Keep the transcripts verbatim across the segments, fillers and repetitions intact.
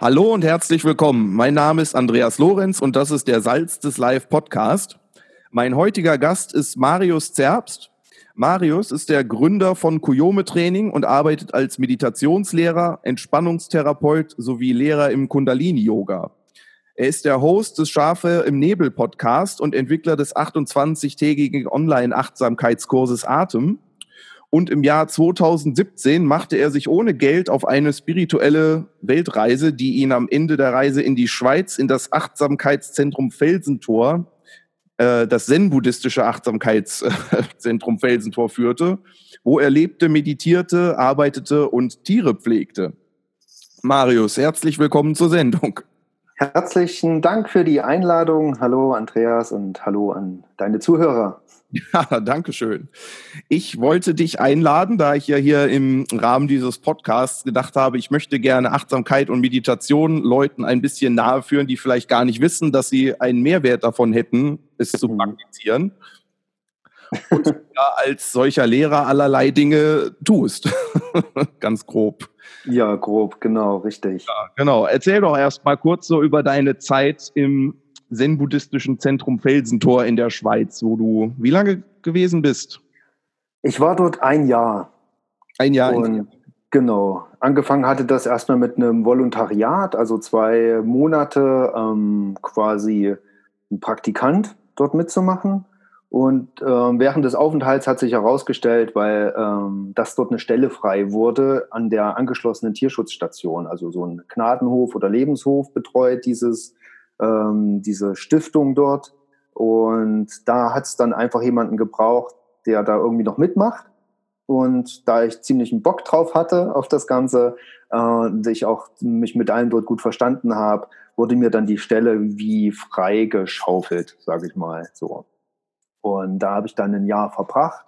Hallo und herzlich willkommen. Mein Name ist Andreas Lorenz und das ist der Salz des Live Podcast. Mein heutiger Gast ist Marius Zerbst. Marius ist der Gründer von Kuyome Training und arbeitet als Meditationslehrer, Entspannungstherapeut sowie Lehrer im Kundalini-Yoga. Er ist der Host des Schafe im Nebel Podcast und Entwickler des achtundzwanzigtägigen Online-Achtsamkeitskurses Atem. Und im Jahr zweitausendsiebzehn machte er sich ohne Geld auf eine spirituelle Weltreise, die ihn am Ende der Reise in die Schweiz, in das Achtsamkeitszentrum Felsentor, äh, das zen-buddhistische Achtsamkeitszentrum Felsentor führte, wo er lebte, meditierte, arbeitete und Tiere pflegte. Marius, herzlich willkommen zur Sendung. Herzlichen Dank für die Einladung. Hallo Andreas und hallo an deine Zuhörer. Ja, danke schön. Ich wollte dich einladen, da ich ja hier im Rahmen dieses Podcasts gedacht habe, ich möchte gerne Achtsamkeit und Meditation Leuten ein bisschen nahe führen, die vielleicht gar nicht wissen, dass sie einen Mehrwert davon hätten, es zu praktizieren. Und ja, als solcher Lehrer allerlei Dinge tust. Ganz grob. Ja, grob, genau, richtig. Ja, genau. Erzähl doch erst mal kurz so über deine Zeit im zen-buddhistischen Zentrum Felsentor in der Schweiz, wo du wie lange gewesen bist? Ich war dort ein Jahr. Ein Jahr? Und genau. Angefangen hatte das erstmal mit einem Volontariat, also zwei Monate ähm, quasi ein Praktikant dort mitzumachen. Und ähm, während des Aufenthalts hat sich herausgestellt, weil ähm, dass dort eine Stelle frei wurde an der angeschlossenen Tierschutzstation, also so ein Gnadenhof oder Lebenshof betreut dieses ähm, diese Stiftung dort. Und da hat es dann einfach jemanden gebraucht, der da irgendwie noch mitmacht. Und da ich ziemlich einen Bock drauf hatte auf das Ganze äh, und ich auch mich mit allen dort gut verstanden habe, wurde mir dann die Stelle wie frei geschaufelt, sage ich mal so. Und da habe ich dann ein Jahr verbracht.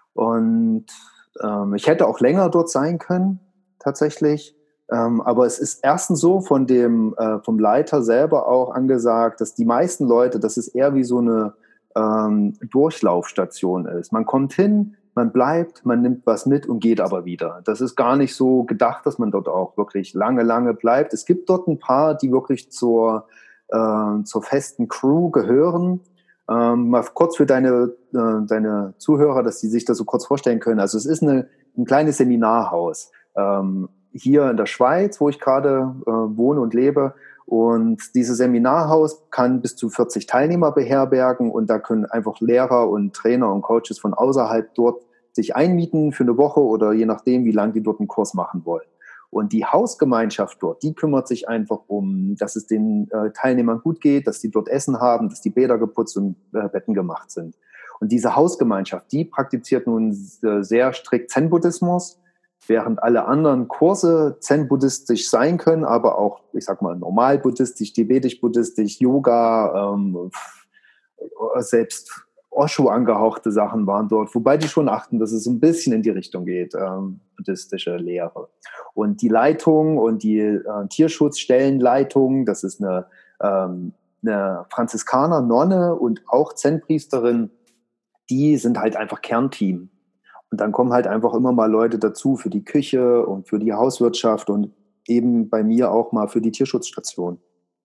Und ähm, ich hätte auch länger dort sein können, tatsächlich. Ähm, aber es ist erstens so von dem, äh, vom Leiter selber auch angesagt, dass die meisten Leute, dass es eher wie so eine ähm, Durchlaufstation ist. Man kommt hin, man bleibt, man nimmt was mit und geht aber wieder. Das ist gar nicht so gedacht, dass man dort auch wirklich lange, lange bleibt. Es gibt dort ein paar, die wirklich zur, äh, zur festen Crew gehören. Ähm, mal kurz für deine, äh, deine Zuhörer, dass die sich das so kurz vorstellen können. Also es ist eine, ein kleines Seminarhaus ähm, hier in der Schweiz, wo ich gerade äh, wohne und lebe. Und dieses Seminarhaus kann bis zu vierzig Teilnehmer beherbergen und da können einfach Lehrer und Trainer und Coaches von außerhalb dort sich einmieten für eine Woche oder je nachdem, wie lange die dort einen Kurs machen wollen. Und die Hausgemeinschaft dort, die kümmert sich einfach um, dass es den äh, Teilnehmern gut geht, dass die dort Essen haben, dass die Bäder geputzt und äh, Betten gemacht sind. Und diese Hausgemeinschaft, die praktiziert nun äh, sehr strikt Zen-Buddhismus, während alle anderen Kurse zen-buddhistisch sein können, aber auch, ich sag mal, normal-buddhistisch, tibetisch-buddhistisch, Yoga, ähm, selbst Osho angehauchte Sachen waren dort, wobei die schon achten, dass es ein bisschen in die Richtung geht, ähm, buddhistische Lehre. Und die Leitung und die äh, Tierschutzstellenleitung, das ist eine, ähm, eine Franziskaner-Nonne und auch Zen-Priesterin, die sind halt einfach Kernteam. Und dann kommen halt einfach immer mal Leute dazu für die Küche und für die Hauswirtschaft und eben bei mir auch mal für die Tierschutzstation.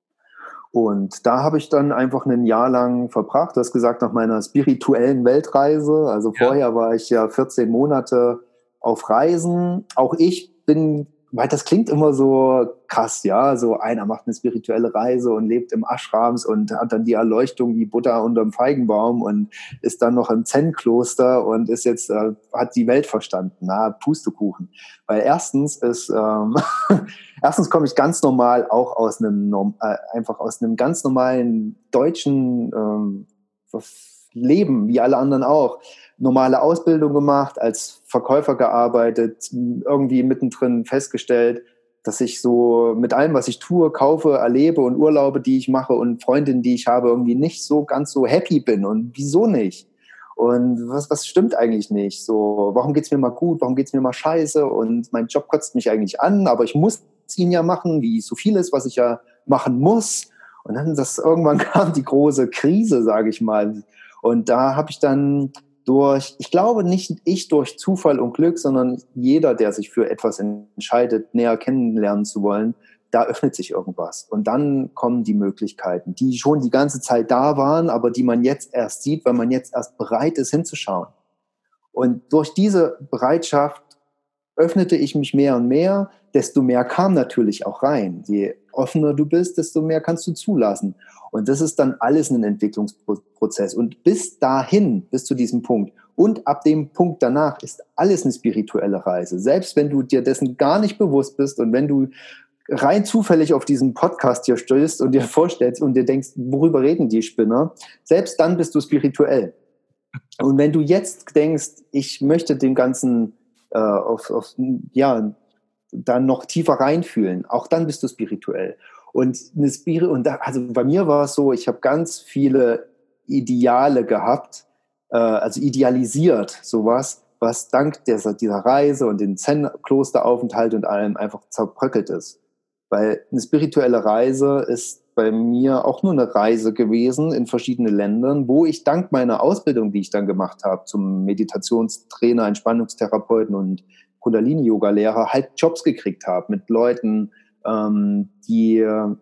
Und da habe ich dann einfach ein Jahr lang verbracht. Du hast gesagt, nach meiner spirituellen Weltreise. Also ja. Vorher war ich ja vierzehn Monate auf Reisen. Auch ich bin, weil das klingt immer so krass, ja. So einer macht eine spirituelle Reise und lebt im Ashrams und hat dann die Erleuchtung wie Buddha unterm Feigenbaum und ist dann noch im Zen-Kloster und ist jetzt, äh, hat die Welt verstanden. Na, Pustekuchen. Weil erstens ist, ähm, erstens komme ich ganz normal auch aus einem, äh, einfach aus einem ganz normalen deutschen ähm, Leben, wie alle anderen auch. Normale Ausbildung gemacht, als Verkäufer gearbeitet, irgendwie mittendrin festgestellt, dass ich so mit allem, was ich tue, kaufe, erlebe und Urlaube, die ich mache und Freundinnen, die ich habe, irgendwie nicht so ganz so happy bin. Und wieso nicht? Und was, was stimmt eigentlich nicht? So, warum geht's mir mal gut? Warum geht's mir mal scheiße? Und mein Job kotzt mich eigentlich an, aber ich muss ihn ja machen, wie so vieles, was ich ja machen muss. Und dann das irgendwann kam die große Krise, sage ich mal. Und da habe ich dann durch, ich glaube nicht ich durch Zufall und Glück, sondern jeder, der sich für etwas entscheidet, näher kennenlernen zu wollen, da öffnet sich irgendwas. Und dann kommen die Möglichkeiten, die schon die ganze Zeit da waren, aber die man jetzt erst sieht, weil man jetzt erst bereit ist, hinzuschauen. Und durch diese Bereitschaft öffnete ich mich mehr und mehr, desto mehr kam natürlich auch rein. Je offener du bist, desto mehr kannst du zulassen. Und das ist dann alles ein Entwicklungsprozess. Und bis dahin, bis zu diesem Punkt und ab dem Punkt danach ist alles eine spirituelle Reise. Selbst wenn du dir dessen gar nicht bewusst bist und wenn du rein zufällig auf diesen Podcast hier stößt und dir vorstellst und dir denkst, worüber reden die Spinner, selbst dann bist du spirituell. Und wenn du jetzt denkst, ich möchte dem Ganzen äh, auf, auf, ja, dann noch tiefer reinfühlen, auch dann bist du spirituell. Und, eine Spiri- und da, also bei mir war es so, ich habe ganz viele Ideale gehabt, äh, also idealisiert sowas, was dank dieser, dieser Reise und den Zen-Klosteraufenthalt und allem einfach zerbröckelt ist. Weil eine spirituelle Reise ist bei mir auch nur eine Reise gewesen in verschiedene Ländern, wo ich dank meiner Ausbildung, die ich dann gemacht habe, zum Meditationstrainer, Entspannungstherapeuten und Kundalini-Yoga-Lehrer, halt Jobs gekriegt habe mit Leuten, ähm, die äh,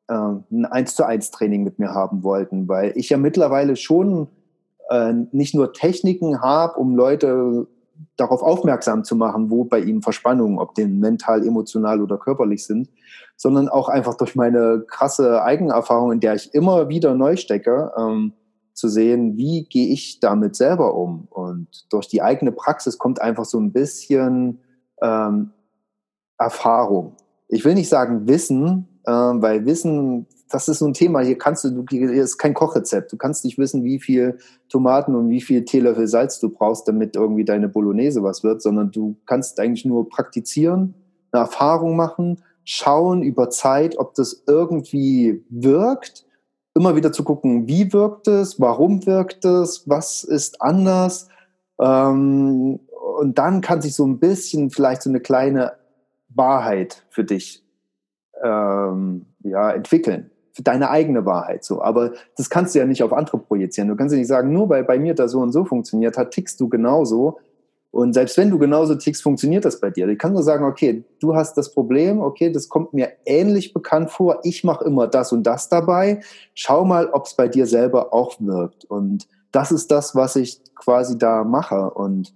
ein eins zu eins Training mit mir haben wollten, weil ich ja mittlerweile schon äh, nicht nur Techniken habe, um Leute darauf aufmerksam zu machen, wo bei ihnen Verspannungen, ob die mental, emotional oder körperlich sind, sondern auch einfach durch meine krasse Eigenerfahrung, in der ich immer wieder neu stecke, ähm, zu sehen, wie gehe ich damit selber um. Und durch die eigene Praxis kommt einfach so ein bisschen ähm, Erfahrung. Ich will nicht sagen Wissen, äh, weil Wissen, das ist so ein Thema, hier kannst du, hier ist kein Kochrezept. Du kannst nicht wissen, wie viel Tomaten und wie viel Teelöffel Salz du brauchst, damit irgendwie deine Bolognese was wird, sondern du kannst eigentlich nur praktizieren, eine Erfahrung machen, schauen über Zeit, ob das irgendwie wirkt, immer wieder zu gucken, wie wirkt es, warum wirkt es, was ist anders, ähm, und dann kann sich so ein bisschen vielleicht so eine kleine Wahrheit für dich ähm, ja, entwickeln. Für deine eigene Wahrheit so. Aber das kannst du ja nicht auf andere projizieren. Du kannst ja nicht sagen, nur weil bei mir das so und so funktioniert hat, tickst du genauso. Und selbst wenn du genauso tickst, funktioniert das bei dir. Ich kann nur sagen, okay, du hast das Problem, okay, das kommt mir ähnlich bekannt vor, ich mache immer das und das dabei. Schau mal, ob es bei dir selber auch wirkt. Und das ist das, was ich quasi da mache. Und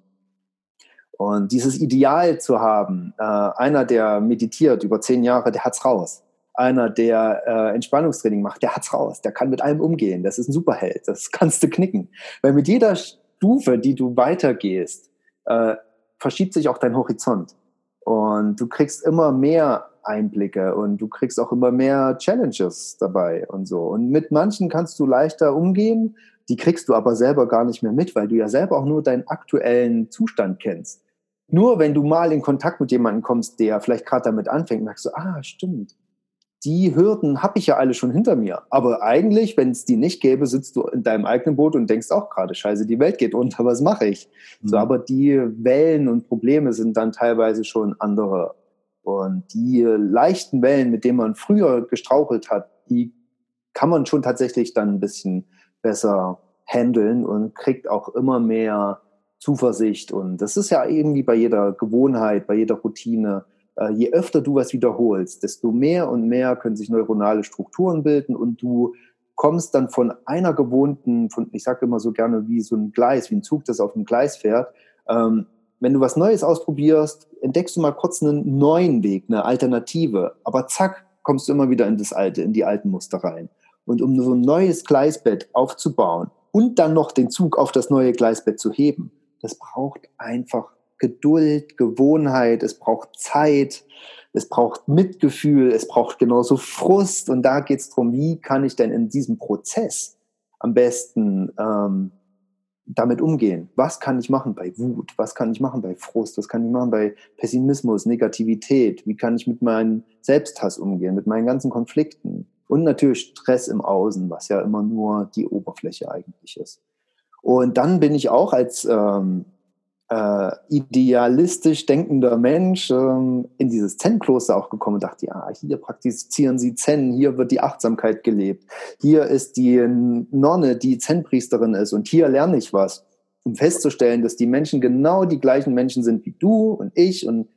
Und dieses Ideal zu haben, äh, einer, der meditiert über zehn Jahre, der hat's raus. Einer, der äh, Entspannungstraining macht, der hat's raus. Der kann mit allem umgehen. Das ist ein Superheld. Das kannst du knicken. Weil mit jeder Stufe, die du weitergehst, äh, verschiebt sich auch dein Horizont. Und du kriegst immer mehr Einblicke und du kriegst auch immer mehr Challenges dabei und so. Und mit manchen kannst du leichter umgehen, die kriegst du aber selber gar nicht mehr mit, weil du ja selber auch nur deinen aktuellen Zustand kennst. Nur wenn du mal in Kontakt mit jemandem kommst, der vielleicht gerade damit anfängt, merkst du, ah, stimmt, die Hürden habe ich ja alle schon hinter mir. Aber eigentlich, wenn es die nicht gäbe, sitzt du in deinem eigenen Boot und denkst auch gerade, scheiße, die Welt geht unter, was mache ich? Mhm. So, aber die Wellen und Probleme sind dann teilweise schon andere. Und die leichten Wellen, mit denen man früher gestrauchelt hat, die kann man schon tatsächlich dann ein bisschen besser handeln und kriegt auch immer mehr Zuversicht. Und das ist ja irgendwie bei jeder Gewohnheit, bei jeder Routine. Äh, je öfter du was wiederholst, desto mehr und mehr können sich neuronale Strukturen bilden und du kommst dann von einer gewohnten, von, ich sage immer so gerne wie so ein Gleis, wie ein Zug, das auf einem Gleis fährt. Ähm, wenn du was Neues ausprobierst, entdeckst du mal kurz einen neuen Weg, eine Alternative. Aber zack, kommst du immer wieder in das Alte, in die alten Muster rein. Und um so ein neues Gleisbett aufzubauen und dann noch den Zug auf das neue Gleisbett zu heben, das braucht einfach Geduld, Gewohnheit, es braucht Zeit, es braucht Mitgefühl, es braucht genauso Frust. Und da geht es darum, wie kann ich denn in diesem Prozess am besten ähm, damit umgehen? Was kann ich machen bei Wut? Was kann ich machen bei Frust? Was kann ich machen bei Pessimismus, Negativität? Wie kann ich mit meinem Selbsthass umgehen, mit meinen ganzen Konflikten? Und natürlich Stress im Außen, was ja immer nur die Oberfläche eigentlich ist. Und dann bin ich auch als ähm, äh, idealistisch denkender Mensch ähm, in dieses Zen-Kloster auch gekommen und dachte, ja, hier praktizieren sie Zen, hier wird die Achtsamkeit gelebt. Hier ist die Nonne, die Zen-Priesterin ist und hier lerne ich was. Um festzustellen, dass die Menschen genau die gleichen Menschen sind wie du und ich und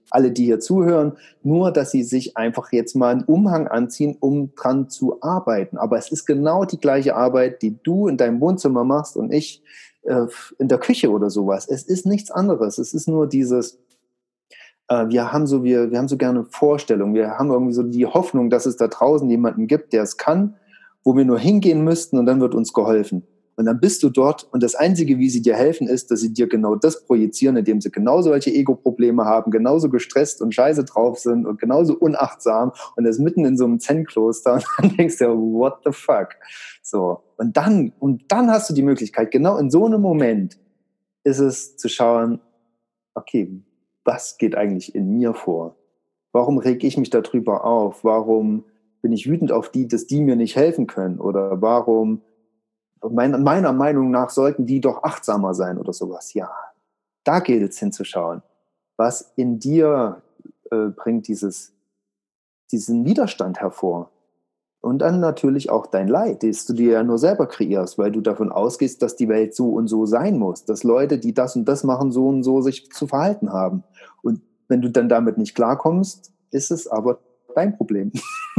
alle, die hier zuhören, nur, dass sie sich einfach jetzt mal einen Umhang anziehen, um dran zu arbeiten. Aber es ist genau die gleiche Arbeit, die du in deinem Wohnzimmer machst und ich äh, in der Küche oder sowas. Es ist nichts anderes. Es ist nur dieses, äh, wir haben so, wir, wir haben so gerne Vorstellungen. Wir haben irgendwie so die Hoffnung, dass es da draußen jemanden gibt, der es kann, wo wir nur hingehen müssten und dann wird uns geholfen. Und dann bist du dort und das Einzige, wie sie dir helfen, ist, dass sie dir genau das projizieren, indem sie genauso welche Ego-Probleme haben, genauso gestresst und scheiße drauf sind und genauso unachtsam und das mitten in so einem Zen-Kloster und dann denkst du, what the fuck? So. Und dann, und dann hast du die Möglichkeit, genau in so einem Moment ist es zu schauen, okay, was geht eigentlich in mir vor? Warum reg ich mich darüber auf? Warum bin ich wütend auf die, dass die mir nicht helfen können? Oder warum Meiner, meiner Meinung nach sollten die doch achtsamer sein oder sowas. Ja, da gilt es hinzuschauen. Was in dir äh, bringt dieses, diesen Widerstand hervor? Und dann natürlich auch dein Leid, das du dir ja nur selber kreierst, weil du davon ausgehst, dass die Welt so und so sein muss. Dass Leute, die das und das machen, so und so sich zu verhalten haben. Und wenn du dann damit nicht klarkommst, ist es aber dein Problem.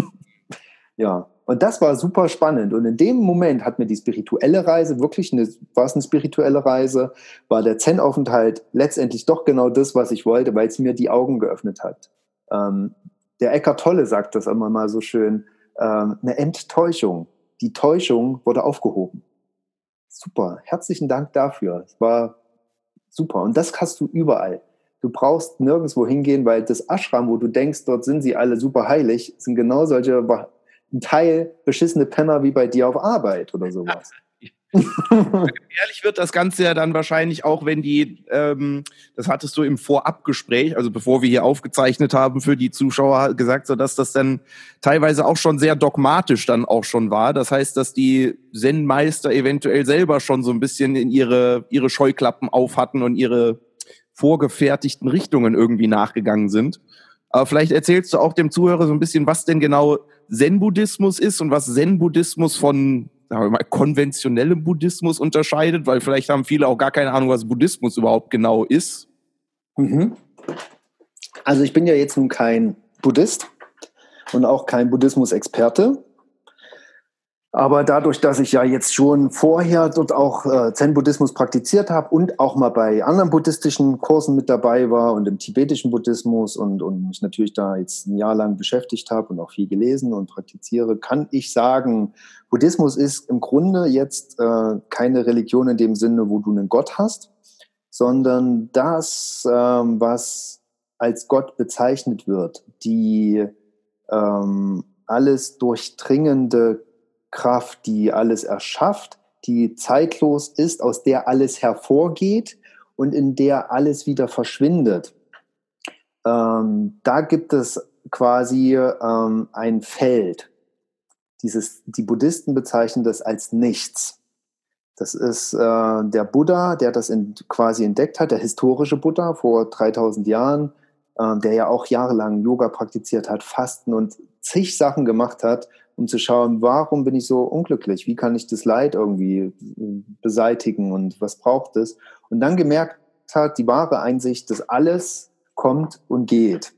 Ja. Und das war super spannend. Und in dem Moment hat mir die spirituelle Reise, wirklich eine, war es eine spirituelle Reise, war der Zen-Aufenthalt letztendlich doch genau das, was ich wollte, weil es mir die Augen geöffnet hat. Ähm, der Eckhart Tolle sagt das immer mal so schön, ähm, eine Enttäuschung. Die Täuschung wurde aufgehoben. Super, herzlichen Dank dafür. Es war super. Und das hast du überall. Du brauchst nirgendwo hingehen, weil das Ashram, wo du denkst, dort sind sie alle super heilig, sind genau solche ein Teil beschissene Penner wie bei dir auf Arbeit oder sowas. Ehrlich wird das Ganze ja dann wahrscheinlich auch, wenn die, ähm, das hattest du im Vorabgespräch, also bevor wir hier aufgezeichnet haben für die Zuschauer, gesagt, so dass das dann teilweise auch schon sehr dogmatisch dann auch schon war. Das heißt, dass die Zen-Meister eventuell selber schon so ein bisschen in ihre, ihre Scheuklappen auf hatten und ihre vorgefertigten Richtungen irgendwie nachgegangen sind. Aber vielleicht erzählst du auch dem Zuhörer so ein bisschen, was denn genau Zen-Buddhismus ist und was Zen-Buddhismus von, sagen wir mal, konventionellem Buddhismus unterscheidet, weil vielleicht haben viele auch gar keine Ahnung, was Buddhismus überhaupt genau ist. Mhm. Also ich bin ja jetzt nun kein Buddhist und auch kein Buddhismus-Experte. Aber dadurch, dass ich ja jetzt schon vorher dort auch äh, Zen-Buddhismus praktiziert habe und auch mal bei anderen buddhistischen Kursen mit dabei war und im tibetischen Buddhismus und, und mich natürlich da jetzt ein Jahr lang beschäftigt habe und auch viel gelesen und praktiziere, kann ich sagen, Buddhismus ist im Grunde jetzt äh, keine Religion in dem Sinne, wo du einen Gott hast, sondern das, ähm, was als Gott bezeichnet wird, die ähm, alles durchdringende Kraft, die alles erschafft, die zeitlos ist, aus der alles hervorgeht und in der alles wieder verschwindet. Ähm, da gibt es quasi ähm, ein Feld. Dieses, die Buddhisten bezeichnen das als Nichts. Das ist äh, der Buddha, der das in, quasi entdeckt hat, der historische Buddha vor dreitausend Jahren, äh, der ja auch jahrelang Yoga praktiziert hat, Fasten und zig Sachen gemacht hat, um zu schauen, warum bin ich so unglücklich? Wie kann ich das Leid irgendwie beseitigen und was braucht es? Und dann gemerkt hat, die wahre Einsicht, dass alles kommt und geht.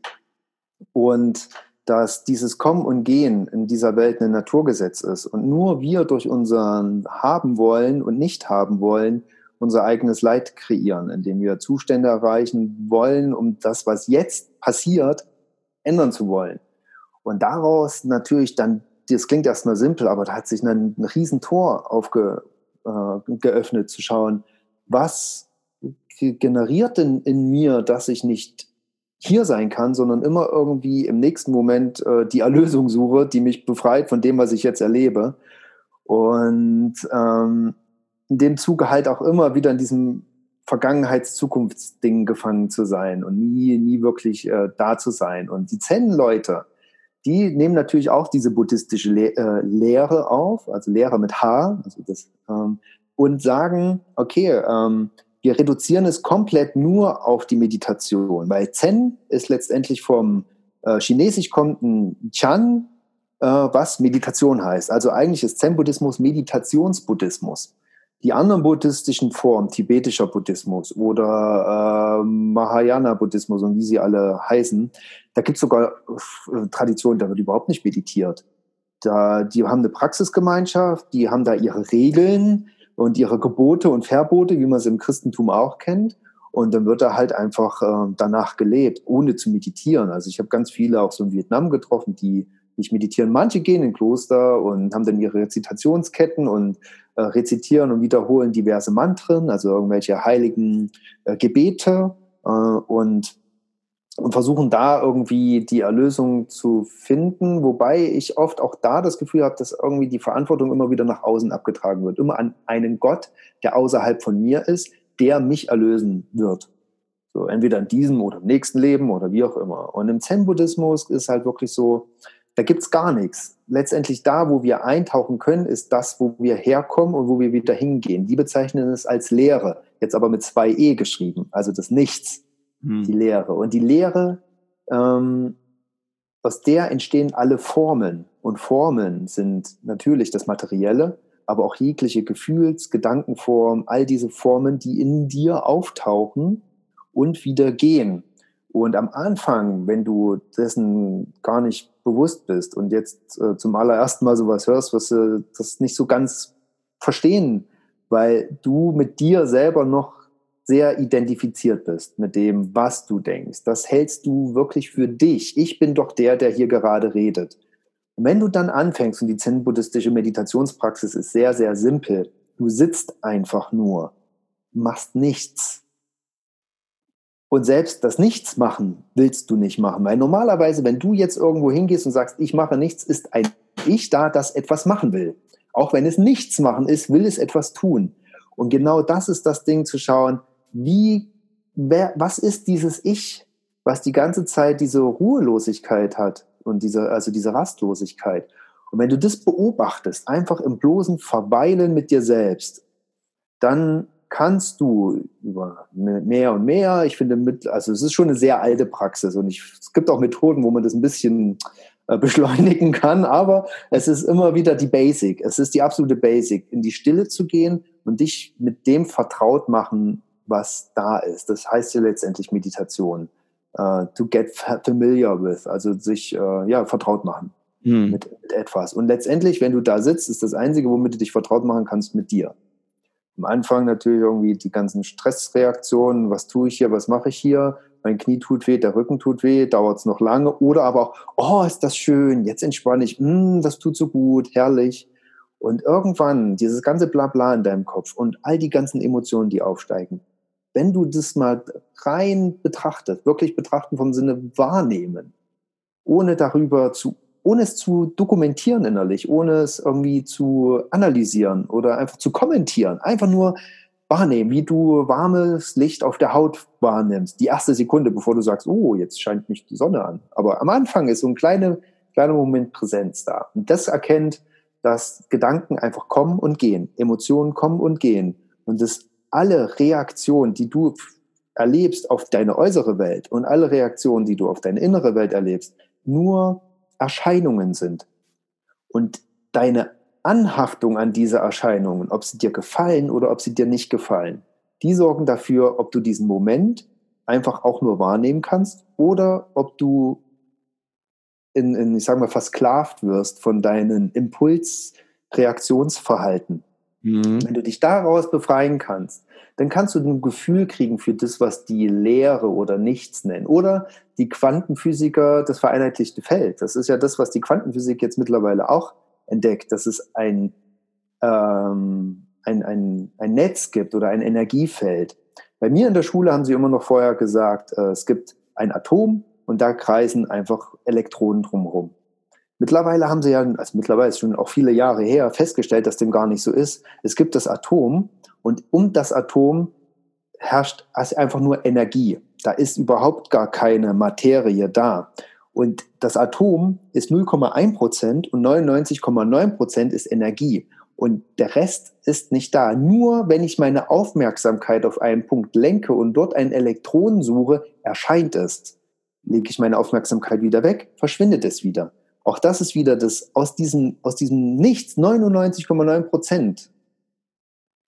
Und dass dieses Kommen und Gehen in dieser Welt ein Naturgesetz ist. Und nur wir durch unseren Haben wollen und nicht haben wollen, unser eigenes Leid kreieren, indem wir Zustände erreichen wollen, um das, was jetzt passiert, ändern zu wollen. Und daraus natürlich dann, das klingt erstmal simpel, aber da hat sich ein, ein Riesentor aufge, äh, geöffnet, zu schauen, was generiert denn in mir, dass ich nicht hier sein kann, sondern immer irgendwie im nächsten Moment äh, die Erlösung suche, die mich befreit von dem, was ich jetzt erlebe. Und ähm, in dem Zuge halt auch immer wieder in diesem Vergangenheits-Zukunftsding gefangen zu sein und nie, nie wirklich äh, da zu sein. Und die Zen-Leute, die nehmen natürlich auch diese buddhistische Le- äh, Lehre auf, also Lehre mit H, also das, ähm, und sagen, okay, ähm, wir reduzieren es komplett nur auf die Meditation, weil Zen ist letztendlich vom äh, Chinesisch kommt ein Chan, äh, was Meditation heißt. Also eigentlich ist Zen-Buddhismus Meditationsbuddhismus. Die anderen buddhistischen Formen, tibetischer Buddhismus oder äh, Mahayana-Buddhismus und wie sie alle heißen, da gibt es sogar äh, Traditionen, da wird überhaupt nicht meditiert. Da, die haben eine Praxisgemeinschaft, die haben da ihre Regeln und ihre Gebote und Verbote, wie man es im Christentum auch kennt. Und dann wird da halt einfach äh, danach gelebt, ohne zu meditieren. Also ich habe ganz viele auch so in Vietnam getroffen, die nicht meditieren. Manche gehen in Kloster und haben dann ihre Rezitationsketten und äh, rezitieren und wiederholen diverse Mantren, also irgendwelche heiligen äh, Gebete äh, und, und versuchen da irgendwie die Erlösung zu finden. Wobei ich oft auch da das Gefühl habe, dass irgendwie die Verantwortung immer wieder nach außen abgetragen wird. Immer an einen Gott, der außerhalb von mir ist, der mich erlösen wird. So, entweder in diesem oder im nächsten Leben oder wie auch immer. Und im Zen-Buddhismus ist halt wirklich so, da gibt's gar nichts. Letztendlich da, wo wir eintauchen können, ist das, wo wir herkommen und wo wir wieder hingehen. Die bezeichnen es als Lehre, jetzt aber mit zwei E geschrieben, also das Nichts, hm. die Lehre. Und die Lehre, ähm, aus der entstehen alle Formen. Und Formen sind natürlich das Materielle, aber auch jegliche Gefühls-, Gedankenform, all diese Formen, die in dir auftauchen und wieder gehen. Und am Anfang, wenn du dessen gar nicht bewusst bist und jetzt äh, zum allerersten Mal sowas hörst, was du das nicht so ganz verstehen, weil du mit dir selber noch sehr identifiziert bist mit dem, was du denkst. Das hältst du wirklich für dich. Ich bin doch der, der hier gerade redet. Und wenn du dann anfängst, und die zen-buddhistische Meditationspraxis ist sehr, sehr simpel, du sitzt einfach nur, machst nichts. Und selbst das Nichtsmachen willst du nicht machen. Weil normalerweise, wenn du jetzt irgendwo hingehst und sagst, ich mache nichts, ist ein Ich da, das etwas machen will. Auch wenn es nichts machen ist, will es etwas tun. Und genau das ist das Ding, zu schauen, wie, wer, was ist dieses Ich, was die ganze Zeit diese Ruhelosigkeit hat und diese, also diese Rastlosigkeit. Und wenn du das beobachtest, einfach im bloßen Verweilen mit dir selbst, dann kannst du über mehr und mehr, ich finde, mit, also es ist schon eine sehr alte Praxis und ich, es gibt auch Methoden, wo man das ein bisschen äh, beschleunigen kann, aber es ist immer wieder die Basic, es ist die absolute Basic, in die Stille zu gehen und dich mit dem vertraut machen, was da ist. Das heißt ja letztendlich Meditation. Uh, to get familiar with, also sich uh, ja, vertraut machen hm. mit, mit etwas. Und letztendlich, wenn du da sitzt, ist das Einzige, womit du dich vertraut machen kannst, mit dir. Am Anfang natürlich irgendwie die ganzen Stressreaktionen, was tue ich hier, was mache ich hier, mein Knie tut weh, der Rücken tut weh, dauert es noch lange, oder aber auch, oh, ist das schön, jetzt entspanne ich, mm, das tut so gut, herrlich. Und irgendwann dieses ganze Blabla in deinem Kopf und all die ganzen Emotionen, die aufsteigen, wenn du das mal rein betrachtest, wirklich betrachten vom Sinne wahrnehmen, ohne darüber zu, ohne es zu dokumentieren innerlich, ohne es irgendwie zu analysieren oder einfach zu kommentieren, einfach nur wahrnehmen, wie du warmes Licht auf der Haut wahrnimmst, die erste Sekunde, bevor du sagst, oh, jetzt scheint mich die Sonne an. Aber am Anfang ist so ein kleiner, kleiner Moment Präsenz da. Und das erkennt, dass Gedanken einfach kommen und gehen, Emotionen kommen und gehen. Und das alle Reaktionen, die du erlebst auf deine äußere Welt und alle Reaktionen, die du auf deine innere Welt erlebst, nur Erscheinungen sind. Und deine Anhaftung an diese Erscheinungen, ob sie dir gefallen oder ob sie dir nicht gefallen, die sorgen dafür, ob du diesen Moment einfach auch nur wahrnehmen kannst oder ob du in, in ich sage mal, versklavt wirst von deinen Impulsreaktionsverhalten. Mhm. Wenn du dich daraus befreien kannst, dann kannst du ein Gefühl kriegen für das, was die Leere oder Nichts nennen. Oder die Quantenphysiker, das vereinheitlichte Feld. Das ist ja das, was die Quantenphysik jetzt mittlerweile auch entdeckt, dass es ein, ähm, ein, ein, ein Netz gibt oder ein Energiefeld. Bei mir in der Schule haben sie immer noch vorher gesagt, äh, es gibt ein Atom und da kreisen einfach Elektronen drumherum. Mittlerweile haben sie ja, also mittlerweile ist schon auch viele Jahre her, festgestellt, dass dem gar nicht so ist. Es gibt das Atom und um das Atom herrscht einfach nur Energie. Da ist überhaupt gar keine Materie da. Und das Atom ist null Komma eins Prozent und neunundneunzig Komma neun Prozent ist Energie. Und der Rest ist nicht da. Nur wenn ich meine Aufmerksamkeit auf einen Punkt lenke und dort einen Elektron suche, erscheint es. Lege ich meine Aufmerksamkeit wieder weg, verschwindet es wieder. Auch das ist wieder das, aus diesem, aus diesem Nichts, neunundneunzig Komma neun Prozent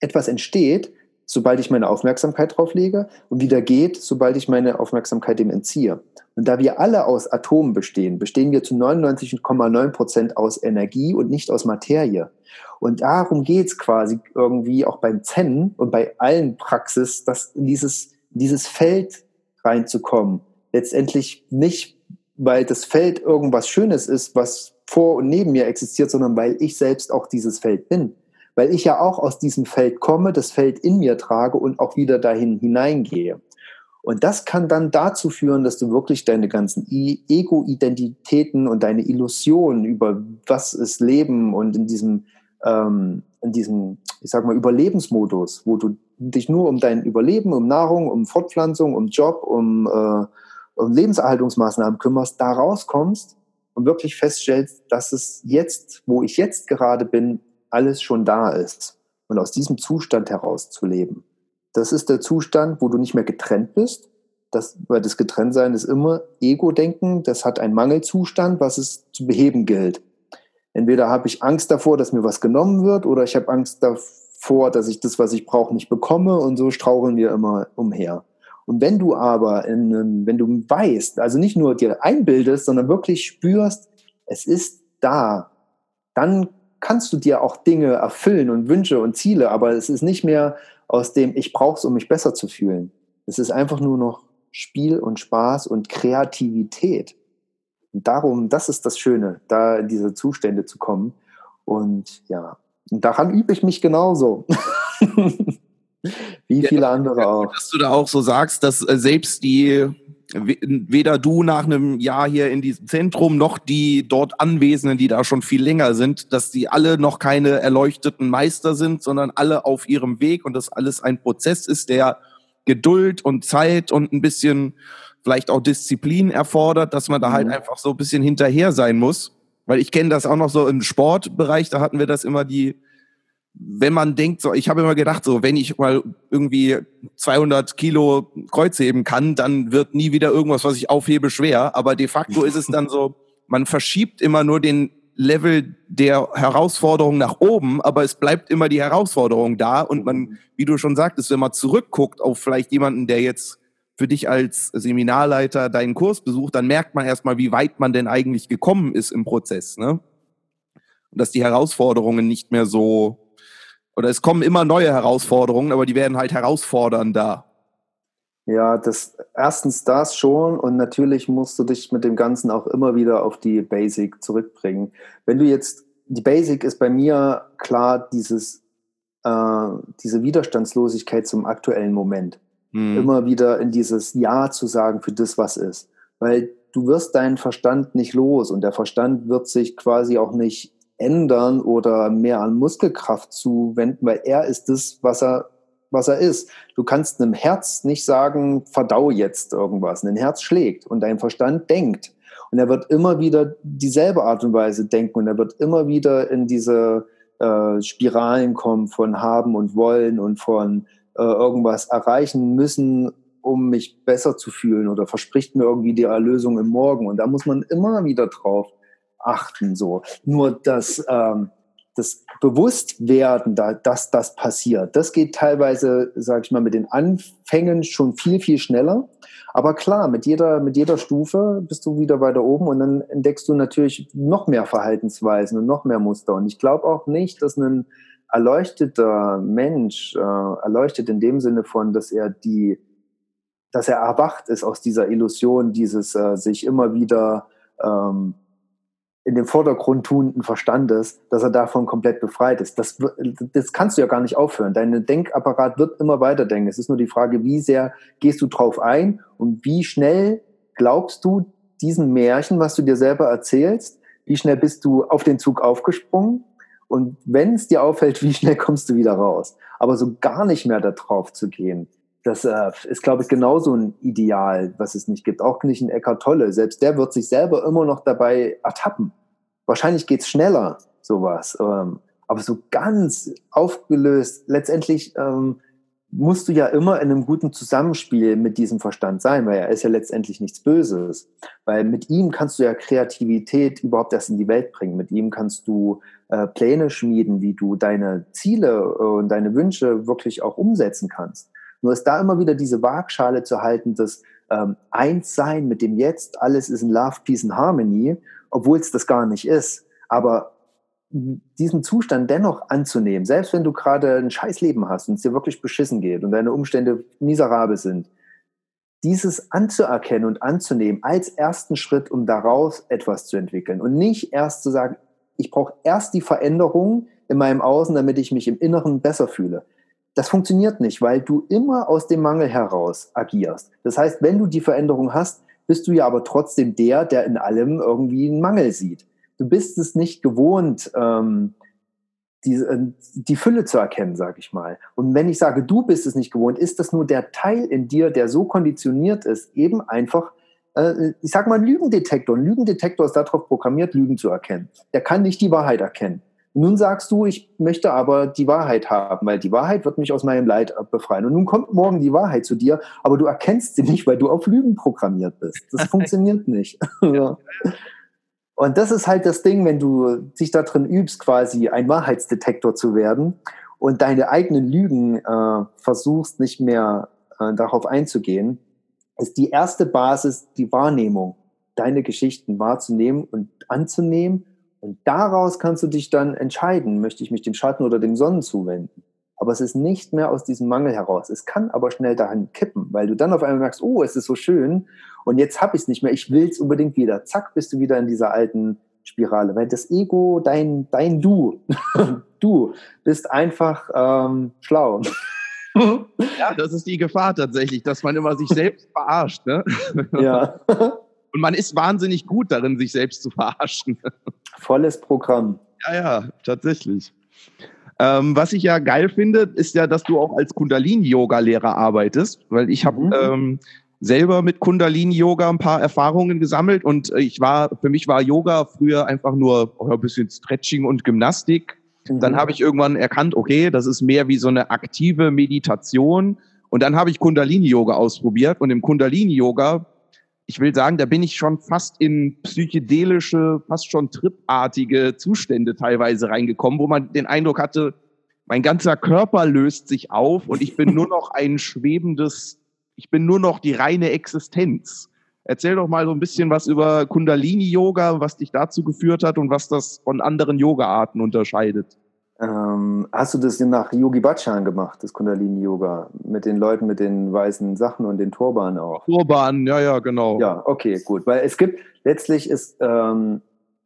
etwas entsteht, sobald ich meine Aufmerksamkeit drauf lege und wieder geht, sobald ich meine Aufmerksamkeit dem entziehe. Und da wir alle aus Atomen bestehen, bestehen wir zu neunundneunzig Komma neun Prozent aus Energie und nicht aus Materie. Und darum geht es quasi irgendwie auch beim Zen und bei allen Praxis, dass in dieses, in dieses Feld reinzukommen. Letztendlich nicht, weil das Feld irgendwas Schönes ist, was vor und neben mir existiert, sondern weil ich selbst auch dieses Feld bin. Weil ich ja auch aus diesem Feld komme, das Feld in mir trage und auch wieder dahin hineingehe. Und das kann dann dazu führen, dass du wirklich deine ganzen Ego-Identitäten und deine Illusionen über was ist Leben und in diesem, ähm, in diesem, ich sag mal, Überlebensmodus, wo du dich nur um dein Überleben, um Nahrung, um Fortpflanzung, um Job, um, äh, um Lebenserhaltungsmaßnahmen kümmerst, da rauskommst und wirklich feststellst, dass es jetzt, wo ich jetzt gerade bin, alles schon da ist. Und aus diesem Zustand heraus zu leben. Das ist der Zustand, wo du nicht mehr getrennt bist. Das, weil das Getrenntsein ist immer Ego-Denken. Das hat einen Mangelzustand, was es zu beheben gilt. Entweder habe ich Angst davor, dass mir was genommen wird, oder ich habe Angst davor, dass ich das, was ich brauche, nicht bekomme. Und so straucheln wir immer umher. Und wenn du aber, in, wenn du weißt, also nicht nur dir einbildest, sondern wirklich spürst, es ist da, dann kannst du dir auch Dinge erfüllen und Wünsche und Ziele, aber es ist nicht mehr aus dem, ich brauche es, um mich besser zu fühlen. Es ist einfach nur noch Spiel und Spaß und Kreativität. Und darum, das ist das Schöne, da in diese Zustände zu kommen. Und ja, und daran übe ich mich genauso. Wie viele andere auch. Dass du da auch so sagst, dass selbst die, weder du nach einem Jahr hier in diesem Zentrum, noch die dort Anwesenden, die da schon viel länger sind, dass die alle noch keine erleuchteten Meister sind, sondern alle auf ihrem Weg und dass alles ein Prozess ist, der Geduld und Zeit und ein bisschen vielleicht auch Disziplin erfordert, dass man da mhm. halt einfach so ein bisschen hinterher sein muss. Weil ich kenne das auch noch so im Sportbereich, da hatten wir das immer die, wenn man denkt, so, ich habe immer gedacht, so, wenn ich mal irgendwie zweihundert Kilo Kreuz heben kann, dann wird nie wieder irgendwas, was ich aufhebe, schwer. Aber de facto ist es dann so, man verschiebt immer nur den Level der Herausforderung nach oben, aber es bleibt immer die Herausforderung da. Und man, wie du schon sagtest, wenn man zurückguckt auf vielleicht jemanden, der jetzt für dich als Seminarleiter deinen Kurs besucht, dann merkt man erstmal, wie weit man denn eigentlich gekommen ist im Prozess, ne? Und dass die Herausforderungen nicht mehr so, oder es kommen immer neue Herausforderungen, aber die werden halt herausfordernder. Ja, das erstens das schon, und natürlich musst du dich mit dem Ganzen auch immer wieder auf die Basic zurückbringen. Wenn du jetzt, die Basic ist bei mir klar dieses, äh, diese Widerstandslosigkeit zum aktuellen Moment. Hm. Immer wieder in dieses Ja zu sagen für das, was ist. Weil du wirst deinen Verstand nicht los und der Verstand wird sich quasi auch nicht ändern oder mehr an Muskelkraft zuwenden, weil er ist das, was er, was er ist. Du kannst einem Herz nicht sagen, verdau jetzt irgendwas. Ein Herz schlägt und dein Verstand denkt. Und er wird immer wieder dieselbe Art und Weise denken und er wird immer wieder in diese äh, Spiralen kommen von haben und wollen und von äh, irgendwas erreichen müssen, um mich besser zu fühlen, oder verspricht mir irgendwie die Erlösung im Morgen. Und da muss man immer wieder drauf achten, so. Nur das, ähm, das Bewusstwerden, da, dass das passiert, das geht teilweise, sag ich mal, mit den Anfängen schon viel, viel schneller. Aber klar, mit jeder, mit jeder Stufe bist du wieder weiter oben und dann entdeckst du natürlich noch mehr Verhaltensweisen und noch mehr Muster. Und ich glaube auch nicht, dass ein erleuchteter Mensch, äh, erleuchtet in dem Sinne von, dass er die, dass er erwacht ist aus dieser Illusion, dieses äh, sich immer wieder ähm, in den Vordergrund tuenden Verstandes, dass er davon komplett befreit ist. Das, das kannst du ja gar nicht aufhören. Dein Denkapparat wird immer weiterdenken. Es ist nur die Frage, wie sehr gehst du drauf ein und wie schnell glaubst du diesen Märchen, was du dir selber erzählst, wie schnell bist du auf den Zug aufgesprungen und wenn es dir auffällt, wie schnell kommst du wieder raus. Aber so gar nicht mehr da drauf zu gehen, das äh, ist, glaube ich, genauso ein Ideal, was es nicht gibt. Auch nicht ein Eckhart Tolle. Selbst der wird sich selber immer noch dabei ertappen. Wahrscheinlich geht's schneller, sowas. Ähm, aber so ganz aufgelöst, letztendlich ähm, musst du ja immer in einem guten Zusammenspiel mit diesem Verstand sein, weil er ist ja letztendlich nichts Böses. Weil mit ihm kannst du ja Kreativität überhaupt erst in die Welt bringen. Mit ihm kannst du äh, Pläne schmieden, wie du deine Ziele äh, und deine Wünsche wirklich auch umsetzen kannst. Nur ist da immer wieder diese Waagschale zu halten, dass ähm, eins sein mit dem Jetzt, alles ist in Love, Peace and Harmony, obwohl es das gar nicht ist. Aber diesen Zustand dennoch anzunehmen, selbst wenn du gerade ein scheiß Leben hast und es dir wirklich beschissen geht und deine Umstände miserabel sind, dieses anzuerkennen und anzunehmen als ersten Schritt, um daraus etwas zu entwickeln und nicht erst zu sagen, ich brauche erst die Veränderung in meinem Außen, damit ich mich im Inneren besser fühle. Das funktioniert nicht, weil du immer aus dem Mangel heraus agierst. Das heißt, wenn du die Veränderung hast, bist du ja aber trotzdem der, der in allem irgendwie einen Mangel sieht. Du bist es nicht gewohnt, ähm, die, die Fülle zu erkennen, sage ich mal. Und wenn ich sage, du bist es nicht gewohnt, ist das nur der Teil in dir, der so konditioniert ist, eben einfach, äh, ich sage mal, ein Lügendetektor. Ein Lügendetektor ist darauf programmiert, Lügen zu erkennen. Der kann nicht die Wahrheit erkennen. Nun sagst du, ich möchte aber die Wahrheit haben, weil die Wahrheit wird mich aus meinem Leid befreien. Und nun kommt morgen die Wahrheit zu dir, aber du erkennst sie nicht, weil du auf Lügen programmiert bist. Das funktioniert nicht. Ja. Und das ist halt das Ding, wenn du dich da drin übst, quasi ein Wahrheitsdetektor zu werden und deine eigenen Lügen äh, versuchst, nicht mehr äh, darauf einzugehen, ist die erste Basis die Wahrnehmung, deine Geschichten wahrzunehmen und anzunehmen. Und daraus kannst du dich dann entscheiden, möchte ich mich dem Schatten oder dem Sonnen zuwenden. Aber es ist nicht mehr aus diesem Mangel heraus. Es kann aber schnell dahin kippen, weil du dann auf einmal merkst, oh, es ist so schön und jetzt habe ich es nicht mehr, ich will es unbedingt wieder. Zack, bist du wieder in dieser alten Spirale. Weil das Ego, dein, dein Du, du bist einfach ähm, schlau. Ja, das ist die Gefahr tatsächlich, dass man immer sich selbst verarscht. Ne? Ja. Und man ist wahnsinnig gut darin, sich selbst zu verarschen. Volles Programm. Ja, ja, tatsächlich. Ähm, was ich ja geil finde, ist ja, dass du auch als Kundalini-Yoga-Lehrer arbeitest, weil ich habe mhm. ähm, selber mit Kundalini-Yoga ein paar Erfahrungen gesammelt und ich war, für mich war Yoga früher einfach nur oh, ein bisschen Stretching und Gymnastik. Mhm. Dann habe ich irgendwann erkannt, okay, das ist mehr wie so eine aktive Meditation und dann habe ich Kundalini-Yoga ausprobiert und im Kundalini-Yoga, ich will sagen, da bin ich schon fast in psychedelische, fast schon tripartige Zustände teilweise reingekommen, wo man den Eindruck hatte, mein ganzer Körper löst sich auf und ich bin nur noch ein schwebendes, ich bin nur noch die reine Existenz. Erzähl doch mal so ein bisschen was über Kundalini-Yoga, was dich dazu geführt hat und was das von anderen Yoga-Arten unterscheidet. Ähm, hast du das nach Yogi Bhajan gemacht, das Kundalini-Yoga? Mit den Leuten mit den weißen Sachen und den Turbanen auch? Turbanen, ja, ja, genau. Ja, okay, gut. Weil es gibt, letztlich ist ähm,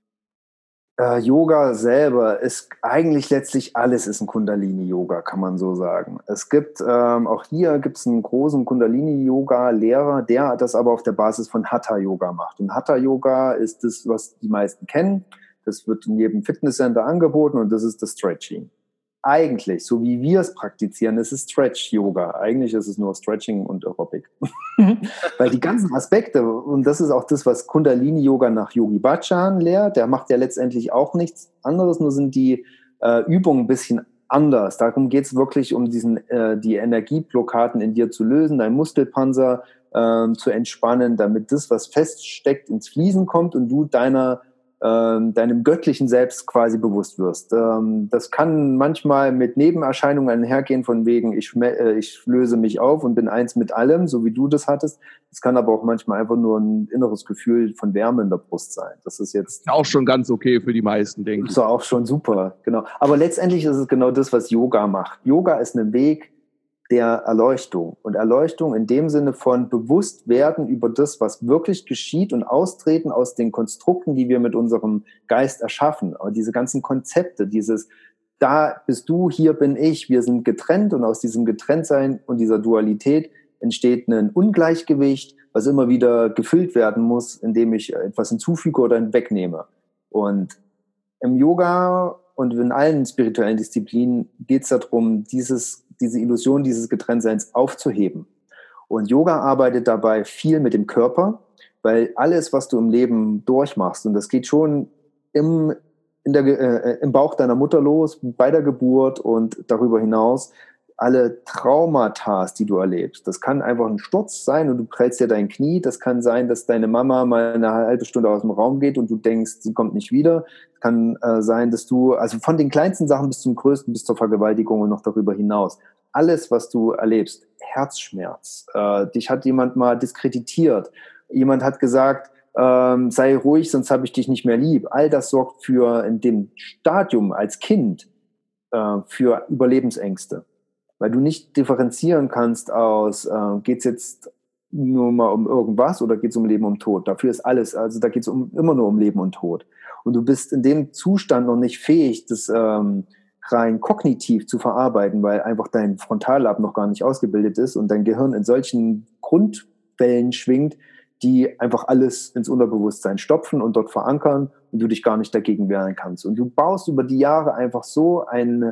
äh, Yoga selber, ist eigentlich letztlich alles ist ein Kundalini-Yoga, kann man so sagen. Es gibt, ähm, auch hier gibt es einen großen Kundalini-Yoga-Lehrer, der das aber auf der Basis von Hatha-Yoga macht. Und Hatha-Yoga ist das, was die meisten kennen. Das wird in jedem Fitnesscenter angeboten und das ist das Stretching. Eigentlich, so wie wir es praktizieren, ist es Stretch-Yoga. Eigentlich ist es nur Stretching und Aerobic. Weil die ganzen Aspekte, und das ist auch das, was Kundalini-Yoga nach Yogi Bhajan lehrt, der macht ja letztendlich auch nichts anderes, nur sind die äh, Übungen ein bisschen anders. Darum geht es wirklich um diesen, äh, die Energieblockaden in dir zu lösen, deinen Muskelpanzer äh, zu entspannen, damit das, was feststeckt, ins Fließen kommt und du deiner deinem göttlichen Selbst quasi bewusst wirst. Das kann manchmal mit Nebenerscheinungen einhergehen, von wegen, ich, ich löse mich auf und bin eins mit allem, so wie du das hattest. Es kann aber auch manchmal einfach nur ein inneres Gefühl von Wärme in der Brust sein. Das ist jetzt auch schon ganz okay für die meisten, denke ich. Das ist auch schon super, genau. Aber letztendlich ist es genau das, was Yoga macht. Yoga ist ein Weg der Erleuchtung. Und Erleuchtung in dem Sinne von Bewusstwerden über das, was wirklich geschieht und austreten aus den Konstrukten, die wir mit unserem Geist erschaffen. Aber diese ganzen Konzepte, dieses, da bist du, hier bin ich, wir sind getrennt und aus diesem Getrenntsein und dieser Dualität entsteht ein Ungleichgewicht, was immer wieder gefüllt werden muss, indem ich etwas hinzufüge oder wegnehme. Und im Yoga und in allen spirituellen Disziplinen geht es darum, dieses diese Illusion dieses Getrenntseins aufzuheben. Und Yoga arbeitet dabei viel mit dem Körper, weil alles, was du im Leben durchmachst, und das geht schon im, in der, äh, im Bauch deiner Mutter los, bei der Geburt und darüber hinaus, alle Traumata, die du erlebst. Das kann einfach ein Sturz sein und du prellst dir dein Knie. Das kann sein, dass deine Mama mal eine halbe Stunde aus dem Raum geht und du denkst, sie kommt nicht wieder. Es kann äh, sein, dass du, also von den kleinsten Sachen bis zum größten, bis zur Vergewaltigung und noch darüber hinaus, alles, was du erlebst, Herzschmerz, äh, dich hat jemand mal diskreditiert, jemand hat gesagt, ähm, sei ruhig, sonst habe ich dich nicht mehr lieb. All das sorgt für, in dem Stadium als Kind, äh, für Überlebensängste. Weil du nicht differenzieren kannst aus, äh, geht es jetzt nur mal um irgendwas oder geht es um Leben und Tod. Dafür ist alles, also da geht es um, immer nur um Leben und Tod. Und du bist in dem Zustand noch nicht fähig, das ähm, rein kognitiv zu verarbeiten, weil einfach dein Frontallab noch gar nicht ausgebildet ist und dein Gehirn in solchen Grundwellen schwingt, die einfach alles ins Unterbewusstsein stopfen und dort verankern und du dich gar nicht dagegen wehren kannst. Und du baust über die Jahre einfach so eine,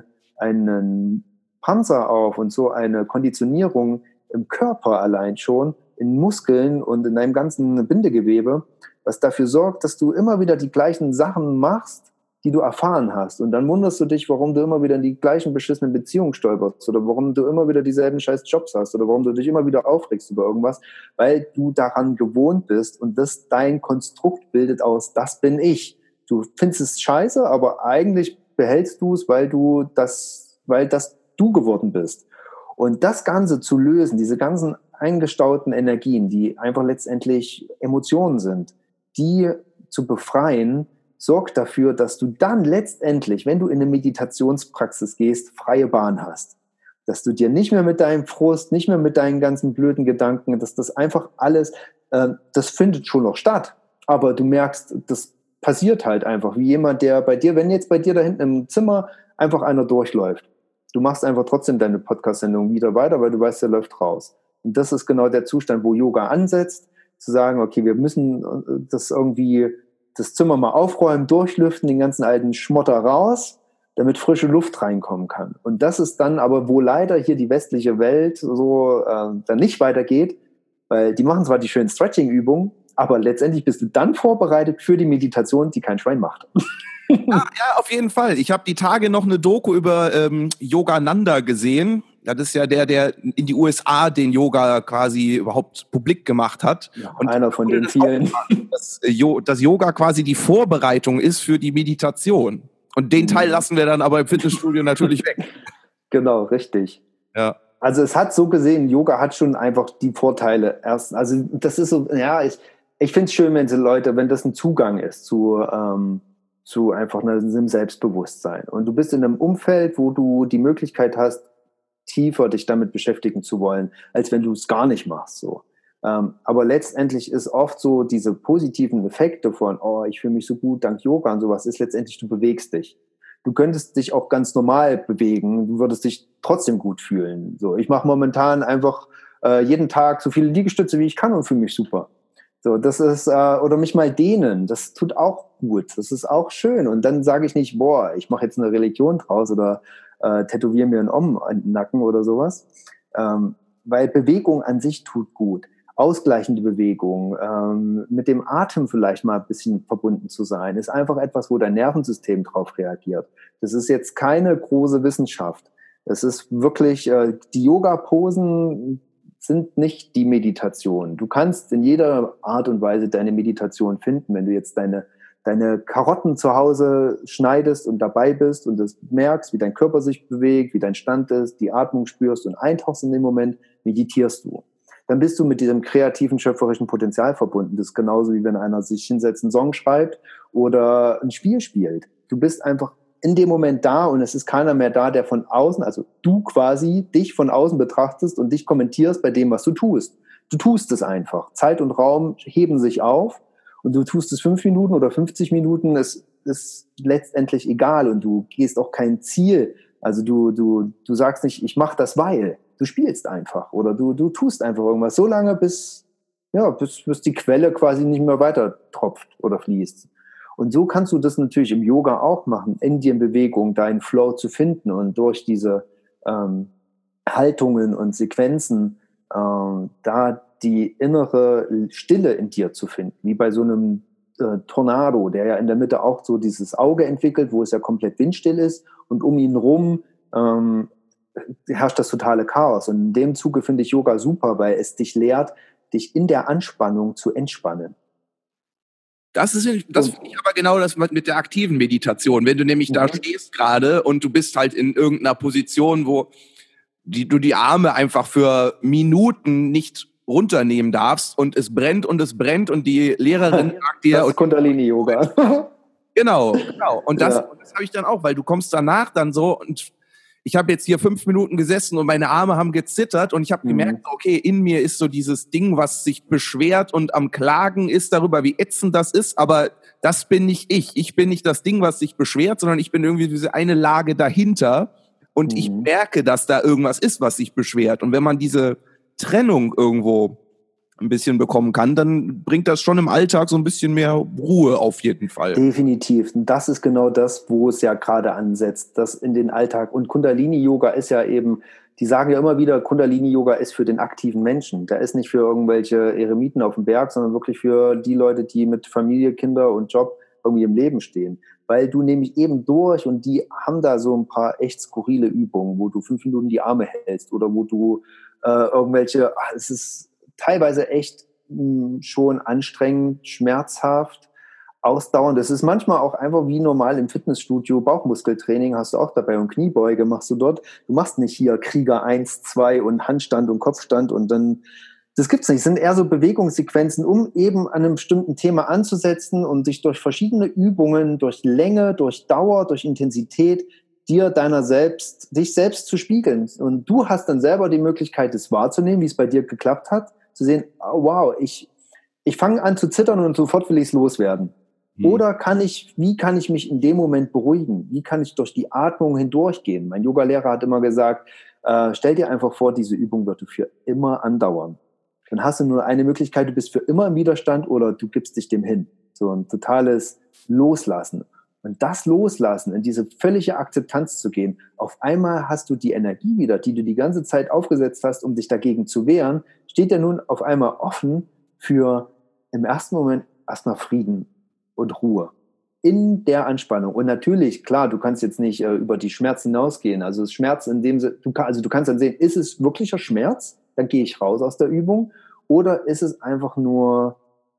einen Panzer auf und so eine Konditionierung im Körper allein schon, in Muskeln und in deinem ganzen Bindegewebe, was dafür sorgt, dass du immer wieder die gleichen Sachen machst, die du erfahren hast. Und dann wunderst du dich, warum du immer wieder in die gleichen beschissenen Beziehungen stolperst oder warum du immer wieder dieselben scheiß Jobs hast oder warum du dich immer wieder aufregst über irgendwas, weil du daran gewohnt bist und das dein Konstrukt bildet aus, das bin ich. Du findest es scheiße, aber eigentlich behältst du es, weil du das, weil das du geworden bist. Und das Ganze zu lösen, diese ganzen eingestauten Energien, die einfach letztendlich Emotionen sind, die zu befreien, sorgt dafür, dass du dann letztendlich, wenn du in eine Meditationspraxis gehst, freie Bahn hast. Dass du dir nicht mehr mit deinem Frust, nicht mehr mit deinen ganzen blöden Gedanken, dass das einfach alles, äh, das findet schon noch statt. Aber du merkst, das passiert halt einfach, wie jemand, der bei dir, wenn jetzt bei dir da hinten im Zimmer einfach einer durchläuft. Du machst einfach trotzdem deine Podcast-Sendung wieder weiter, weil du weißt, der läuft raus. Und das ist genau der Zustand, wo Yoga ansetzt, zu sagen, okay, wir müssen das irgendwie, das Zimmer mal aufräumen, durchlüften, den ganzen alten Schmotter raus, damit frische Luft reinkommen kann. Und das ist dann aber, wo leider hier die westliche Welt so äh, dann nicht weitergeht, weil die machen zwar die schönen Stretching-Übungen, aber letztendlich bist du dann vorbereitet für die Meditation, die kein Schwein macht. Ja, ja, auf jeden Fall. Ich habe die Tage noch eine Doku über ähm, Yogananda gesehen. Ja, das ist ja der, der in die U S A den Yoga quasi überhaupt publik gemacht hat. Ja, und einer von den vielen. Dass, dass Yoga quasi die Vorbereitung ist für die Meditation. Und den Teil lassen wir dann aber im Fitnessstudio natürlich weg. Genau, richtig. Ja. Also es hat so gesehen, Yoga hat schon einfach die Vorteile. Erst, also das ist so, ja, ich, ich finde es schön, wenn die Leute, wenn das ein Zugang ist zu, ähm, zu einfach einem Selbstbewusstsein. Und du bist in einem Umfeld, wo du die Möglichkeit hast, tiefer dich damit beschäftigen zu wollen, als wenn du es gar nicht machst. So. Ähm, aber letztendlich ist oft so diese positiven Effekte von, oh, ich fühle mich so gut dank Yoga und sowas, ist letztendlich, du bewegst dich. Du könntest dich auch ganz normal bewegen, du würdest dich trotzdem gut fühlen. So, ich mache momentan einfach äh, jeden Tag so viele Liegestütze, wie ich kann und fühle mich super. So, das ist, äh, oder mich mal dehnen, das tut auch gut, das ist auch schön. Und dann sage ich nicht, boah, ich mache jetzt eine Religion draus oder äh, tätowiere mir einen Om in den Nacken oder sowas. Ähm, weil Bewegung an sich tut gut. Ausgleichende Bewegung, ähm, mit dem Atem vielleicht mal ein bisschen verbunden zu sein, ist einfach etwas, wo dein Nervensystem drauf reagiert. Das ist jetzt keine große Wissenschaft. Es ist wirklich, äh, die Yoga-Posen sind nicht die Meditation. Du kannst in jeder Art und Weise deine Meditation finden, wenn du jetzt deine, deine Karotten zu Hause schneidest und dabei bist und das merkst, wie dein Körper sich bewegt, wie dein Stand ist, die Atmung spürst und eintauchst in dem Moment, meditierst du. Dann bist du mit diesem kreativen, schöpferischen Potenzial verbunden. Das ist genauso, wie wenn einer sich hinsetzt, einen Song schreibt oder ein Spiel spielt. Du bist einfach in dem Moment da und es ist keiner mehr da, der von außen, also du quasi dich von außen betrachtest und dich kommentierst bei dem, was du tust. Du tust es einfach. Zeit und Raum heben sich auf und du tust es fünf Minuten oder fünfzig Minuten. Es ist letztendlich egal und du gehst auch kein Ziel. Also du, du, du sagst nicht, ich mache das, weil. Du spielst einfach oder du, du tust einfach irgendwas so lange, bis, ja, bis, bis die Quelle quasi nicht mehr weiter tropft oder fließt. Und so kannst du das natürlich im Yoga auch machen, in dir in Bewegung deinen Flow zu finden und durch diese ähm, Haltungen und Sequenzen ähm, da die innere Stille in dir zu finden, wie bei so einem äh, Tornado, der ja in der Mitte auch so dieses Auge entwickelt, wo es ja komplett windstill ist und um ihn rum ähm, herrscht das totale Chaos. Und in dem Zuge finde ich Yoga super, weil es dich lehrt, dich in der Anspannung zu entspannen. Das ist, das finde ich aber genau das mit der aktiven Meditation. Wenn du nämlich mhm. da stehst gerade und du bist halt in irgendeiner Position, wo die, du die Arme einfach für Minuten nicht runternehmen darfst und es brennt und es brennt und die Lehrerin sagt dir... Das ist Kundalini-Yoga. Genau, genau. Und das, ja. das habe ich dann auch, weil du kommst danach dann so und ich habe jetzt hier fünf Minuten gesessen und meine Arme haben gezittert und ich habe mhm. gemerkt, okay, in mir ist so dieses Ding, was sich beschwert und am Klagen ist darüber, wie ätzend das ist, aber das bin nicht ich. Ich bin nicht das Ding, was sich beschwert, sondern ich bin irgendwie diese eine Lage dahinter und mhm. ich merke, dass da irgendwas ist, was sich beschwert. Und wenn man diese Trennung irgendwo ein bisschen bekommen kann, dann bringt das schon im Alltag so ein bisschen mehr Ruhe auf jeden Fall. Definitiv. Und das ist genau das, wo es ja gerade ansetzt, das in den Alltag. Und Kundalini-Yoga ist ja eben, die sagen ja immer wieder, Kundalini-Yoga ist für den aktiven Menschen. Der ist nicht für irgendwelche Eremiten auf dem Berg, sondern wirklich für die Leute, die mit Familie, Kinder und Job irgendwie im Leben stehen. Weil du nämlich eben durch, und die haben da so ein paar echt skurrile Übungen, wo du fünf Minuten die Arme hältst oder wo du äh, irgendwelche, ach, es ist teilweise echt mh, schon anstrengend, schmerzhaft, ausdauernd. Das ist manchmal auch einfach wie normal im Fitnessstudio, Bauchmuskeltraining hast du auch dabei und Kniebeuge machst du dort. Du machst nicht hier Krieger eins, zwei und Handstand und Kopfstand und dann, das gibt's nicht. Es sind eher so Bewegungssequenzen, um eben an einem bestimmten Thema anzusetzen und sich durch verschiedene Übungen, durch Länge, durch Dauer, durch Intensität dir deiner selbst, dich selbst zu spiegeln. Und du hast dann selber die Möglichkeit, es wahrzunehmen, wie es bei dir geklappt hat, zu sehen, oh, wow, ich, ich fange an zu zittern und sofort will ich es loswerden. Hm. Oder kann ich, wie kann ich mich in dem Moment beruhigen? Wie kann ich durch die Atmung hindurchgehen? Mein Yogalehrer hat immer gesagt, äh, stell dir einfach vor, diese Übung wird für immer andauern. Dann hast du nur eine Möglichkeit, du bist für immer im Widerstand oder du gibst dich dem hin. So ein totales Loslassen. Und das Loslassen, in diese völlige Akzeptanz zu gehen, auf einmal hast du die Energie wieder, die du die ganze Zeit aufgesetzt hast, um dich dagegen zu wehren, steht ja nun auf einmal offen für im ersten Moment erstmal Frieden und Ruhe in der Anspannung. Und natürlich, klar, du kannst jetzt nicht äh, über die Schmerz hinausgehen. Also das Schmerz in dem Sinne, du, kann, also du kannst dann sehen, ist es wirklicher Schmerz? Dann gehe ich raus aus der Übung. Oder ist es einfach nur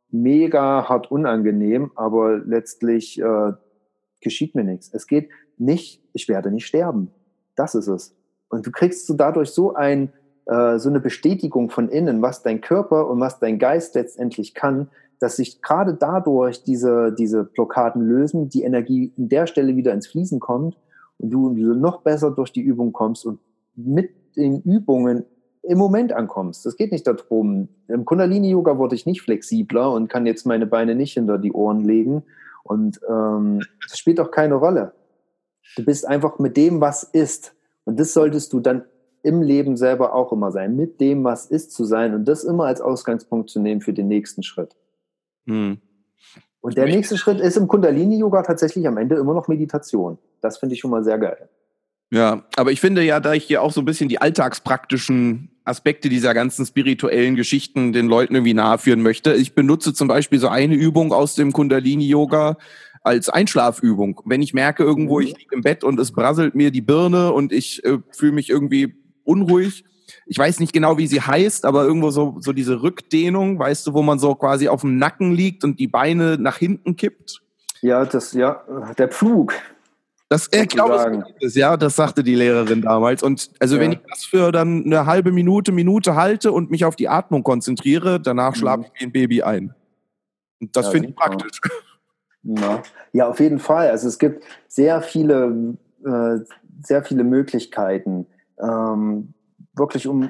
mega hart unangenehm, aber letztlich äh, geschieht mir nichts. Es geht nicht, ich werde nicht sterben. Das ist es. Und du kriegst so dadurch so ein, äh, so eine Bestätigung von innen, was dein Körper und was dein Geist letztendlich kann, dass sich gerade dadurch diese, diese Blockaden lösen, die Energie in der Stelle wieder ins Fließen kommt und du noch besser durch die Übung kommst und mit den Übungen im Moment ankommst. Das geht nicht darum. Im Kundalini-Yoga wurde ich nicht flexibler und kann jetzt meine Beine nicht hinter die Ohren legen. Und ähm, das spielt auch keine Rolle. Du bist einfach mit dem, was ist. Und das solltest du dann im Leben selber auch immer sein. Mit dem, was ist, zu sein. Und das immer als Ausgangspunkt zu nehmen für den nächsten Schritt. Hm. Und der nächste Schritt ist im Kundalini-Yoga tatsächlich am Ende immer noch Meditation. Das finde ich schon mal sehr geil. Ja, aber ich finde ja, da ich hier auch so ein bisschen die alltagspraktischen Aspekte dieser ganzen spirituellen Geschichten den Leuten irgendwie naheführen möchte. Ich benutze zum Beispiel so eine Übung aus dem Kundalini-Yoga als Einschlafübung. Wenn ich merke irgendwo, ich liege im Bett und es brasselt mir die Birne und ich äh, fühle mich irgendwie unruhig. Ich weiß nicht genau, wie sie heißt, aber irgendwo so, so diese Rückdehnung, weißt du, wo man so quasi auf dem Nacken liegt und die Beine nach hinten kippt. Ja, das, ja, der Pflug. Das, ich glaube, das, ja, das sagte die Lehrerin damals. Und also ja. wenn ich das für dann eine halbe Minute, Minute halte und mich auf die Atmung konzentriere, danach mhm. schlafe ich wie ein Baby ein. Und das ja, finde ich praktisch. Ja. ja, auf jeden Fall. Also es gibt sehr viele, äh, sehr viele Möglichkeiten, ähm, wirklich um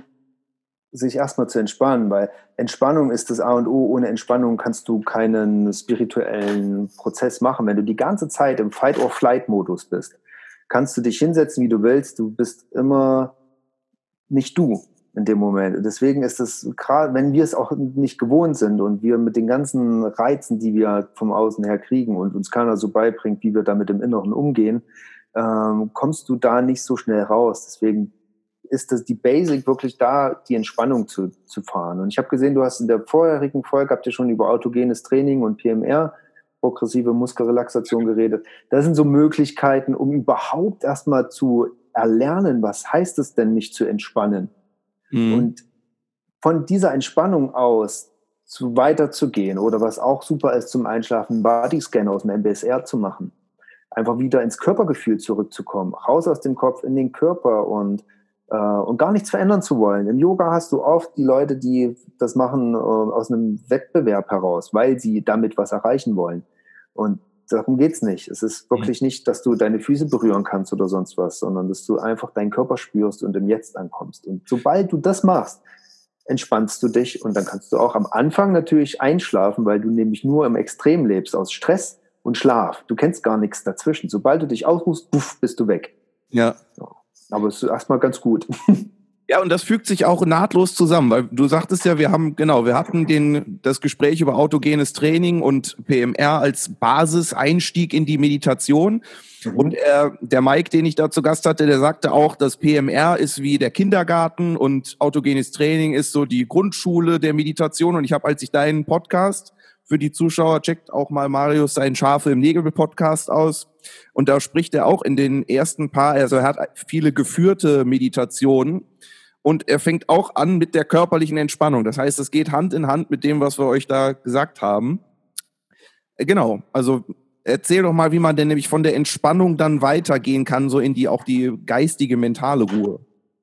sich erstmal zu entspannen, weil Entspannung ist das A und O. Ohne Entspannung kannst du keinen spirituellen Prozess machen. Wenn du die ganze Zeit im Fight-or-Flight-Modus bist, kannst du dich hinsetzen, wie du willst. Du bist immer nicht du in dem Moment. Deswegen ist es gerade, wenn wir es auch nicht gewohnt sind und wir mit den ganzen Reizen, die wir vom Außen her kriegen und uns keiner so beibringt, wie wir damit im Inneren umgehen, ähm, kommst du da nicht so schnell raus. Deswegen ist das die Basic wirklich da, die Entspannung zu, zu fahren. Und ich habe gesehen, du hast in der vorherigen Folge, habt ihr schon über autogenes Training und P M R, progressive Muskelrelaxation, geredet. Das sind so Möglichkeiten, um überhaupt erstmal zu erlernen, was heißt es denn, mich zu entspannen. Mhm. Und von dieser Entspannung aus zu weiterzugehen oder was auch super ist zum Einschlafen, einen Bodyscan aus dem M B S R zu machen. Einfach wieder ins Körpergefühl zurückzukommen, raus aus dem Kopf in den Körper und, äh, und gar nichts verändern zu wollen. Im Yoga hast du oft die Leute, die das machen äh, aus einem Wettbewerb heraus, weil sie damit was erreichen wollen. Und darum geht's nicht. Es ist wirklich nicht, dass du deine Füße berühren kannst oder sonst was, sondern dass du einfach deinen Körper spürst und im Jetzt ankommst. Und sobald du das machst, entspannst du dich und dann kannst du auch am Anfang natürlich einschlafen, weil du nämlich nur im Extrem lebst, aus Stress und Schlaf. Du kennst gar nichts dazwischen. Sobald du dich ausruhst, puff, bist du weg. Ja. Aber es ist erstmal ganz gut. Ja, und das fügt sich auch nahtlos zusammen, weil du sagtest ja, wir haben, genau, wir hatten den, das Gespräch über autogenes Training und P M R als Basiseinstieg in die Meditation. Mhm. Und äh, der Mike, den ich da zu Gast hatte, der sagte auch, dass P M R ist wie der Kindergarten und autogenes Training ist so die Grundschule der Meditation. Und ich habe, als ich deinen Podcast für die Zuschauer, checkt auch mal Marius seinen Schafe im Nägel-Podcast aus. Und da spricht er auch in den ersten paar, also er hat viele geführte Meditationen und er fängt auch an mit der körperlichen Entspannung. Das heißt, es geht Hand in Hand mit dem, was wir euch da gesagt haben. Genau, also erzähl doch mal, wie man denn nämlich von der Entspannung dann weitergehen kann, so in die auch die geistige, mentale Ruhe.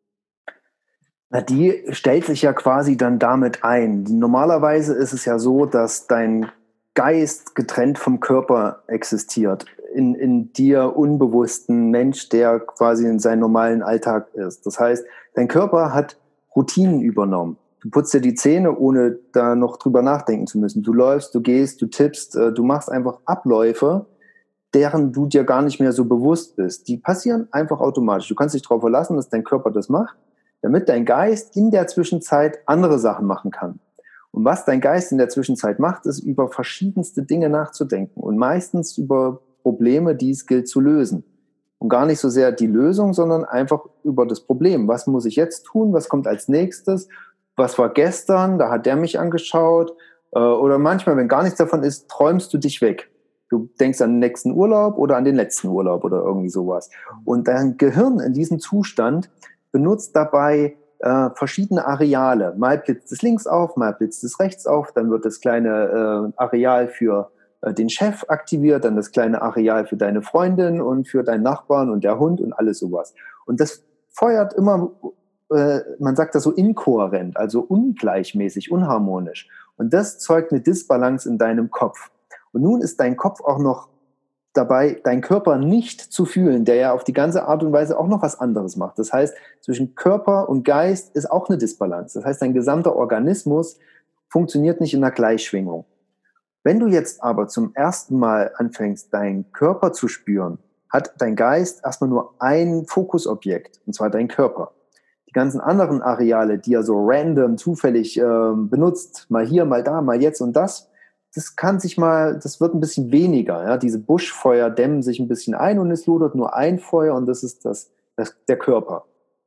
Na, die stellt sich ja quasi dann damit ein. Normalerweise ist es ja so, dass dein Geist getrennt vom Körper existiert. In, in dir unbewussten Mensch, der quasi in seinem normalen Alltag ist. Das heißt, dein Körper hat Routinen übernommen. Du putzt dir die Zähne, ohne da noch drüber nachdenken zu müssen. Du läufst, du gehst, du tippst, du machst einfach Abläufe, deren du dir gar nicht mehr so bewusst bist. Die passieren einfach automatisch. Du kannst dich darauf verlassen, dass dein Körper das macht, damit dein Geist in der Zwischenzeit andere Sachen machen kann. Und was dein Geist in der Zwischenzeit macht, ist, über verschiedenste Dinge nachzudenken und meistens über Probleme, die es gilt zu lösen. Und gar nicht so sehr die Lösung, sondern einfach über das Problem. Was muss ich jetzt tun? Was kommt als nächstes? Was war gestern? Da hat der mich angeschaut. Oder manchmal, wenn gar nichts davon ist, träumst du dich weg. Du denkst an den nächsten Urlaub oder an den letzten Urlaub oder irgendwie sowas. Und dein Gehirn in diesem Zustand benutzt dabei äh, verschiedene Areale. Mal blitzt es links auf, mal blitzt es rechts auf, dann wird das kleine äh, Areal für äh, den Chef aktiviert, dann das kleine Areal für deine Freundin und für deinen Nachbarn und der Hund und alles sowas. Und das feuert immer, äh, man sagt das so inkohärent, also ungleichmäßig, unharmonisch. Und das zeugt eine Disbalance in deinem Kopf. Und nun ist dein Kopf auch noch dabei, deinen Körper nicht zu fühlen, der ja auf die ganze Art und Weise auch noch was anderes macht. Das heißt, zwischen Körper und Geist ist auch eine Disbalance. Das heißt, dein gesamter Organismus funktioniert nicht in einer Gleichschwingung. Wenn du jetzt aber zum ersten Mal anfängst, deinen Körper zu spüren, hat dein Geist erstmal nur ein Fokusobjekt, und zwar dein Körper. Die ganzen anderen Areale, die er so random, zufällig äh, benutzt, mal hier, mal da, mal jetzt und das, das kann sich mal, das wird ein bisschen weniger. Ja? Diese Buschfeuer dämmen sich ein bisschen ein und es lodert nur ein Feuer und das ist das, das, der Körper.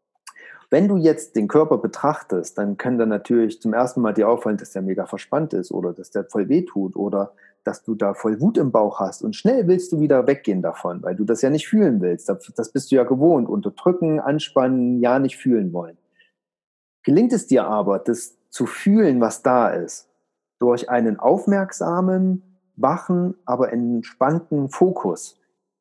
Wenn du jetzt den Körper betrachtest, dann kann dann natürlich zum ersten Mal dir auffallen, dass der mega verspannt ist oder dass der voll wehtut oder dass du da voll Wut im Bauch hast und schnell willst du wieder weggehen davon, weil du das ja nicht fühlen willst. Das bist du ja gewohnt, unterdrücken, anspannen, ja nicht fühlen wollen. Gelingt es dir aber, das zu fühlen, was da ist, durch einen aufmerksamen, wachen, aber entspannten Fokus,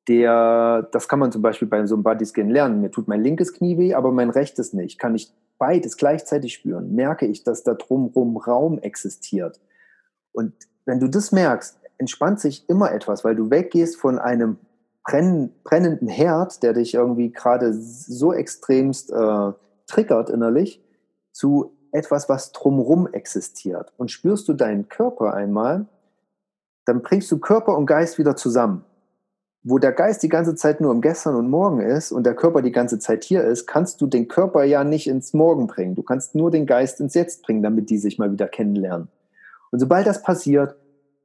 der, das kann man zum Beispiel bei so einem Bodyscan lernen. Mir tut mein linkes Knie weh, aber mein rechtes nicht. Kann ich beides gleichzeitig spüren? Merke ich, dass da drumherum Raum existiert? Und wenn du das merkst, entspannt sich immer etwas, weil du weggehst von einem brenn, brennenden Herd, der dich irgendwie gerade so extremst äh, triggert innerlich, zu etwas, was drumherum existiert. Und spürst du deinen Körper einmal, dann bringst du Körper und Geist wieder zusammen. Wo der Geist die ganze Zeit nur im Gestern und Morgen ist und der Körper die ganze Zeit hier ist, kannst du den Körper ja nicht ins Morgen bringen. Du kannst nur den Geist ins Jetzt bringen, damit die sich mal wieder kennenlernen. Und sobald das passiert,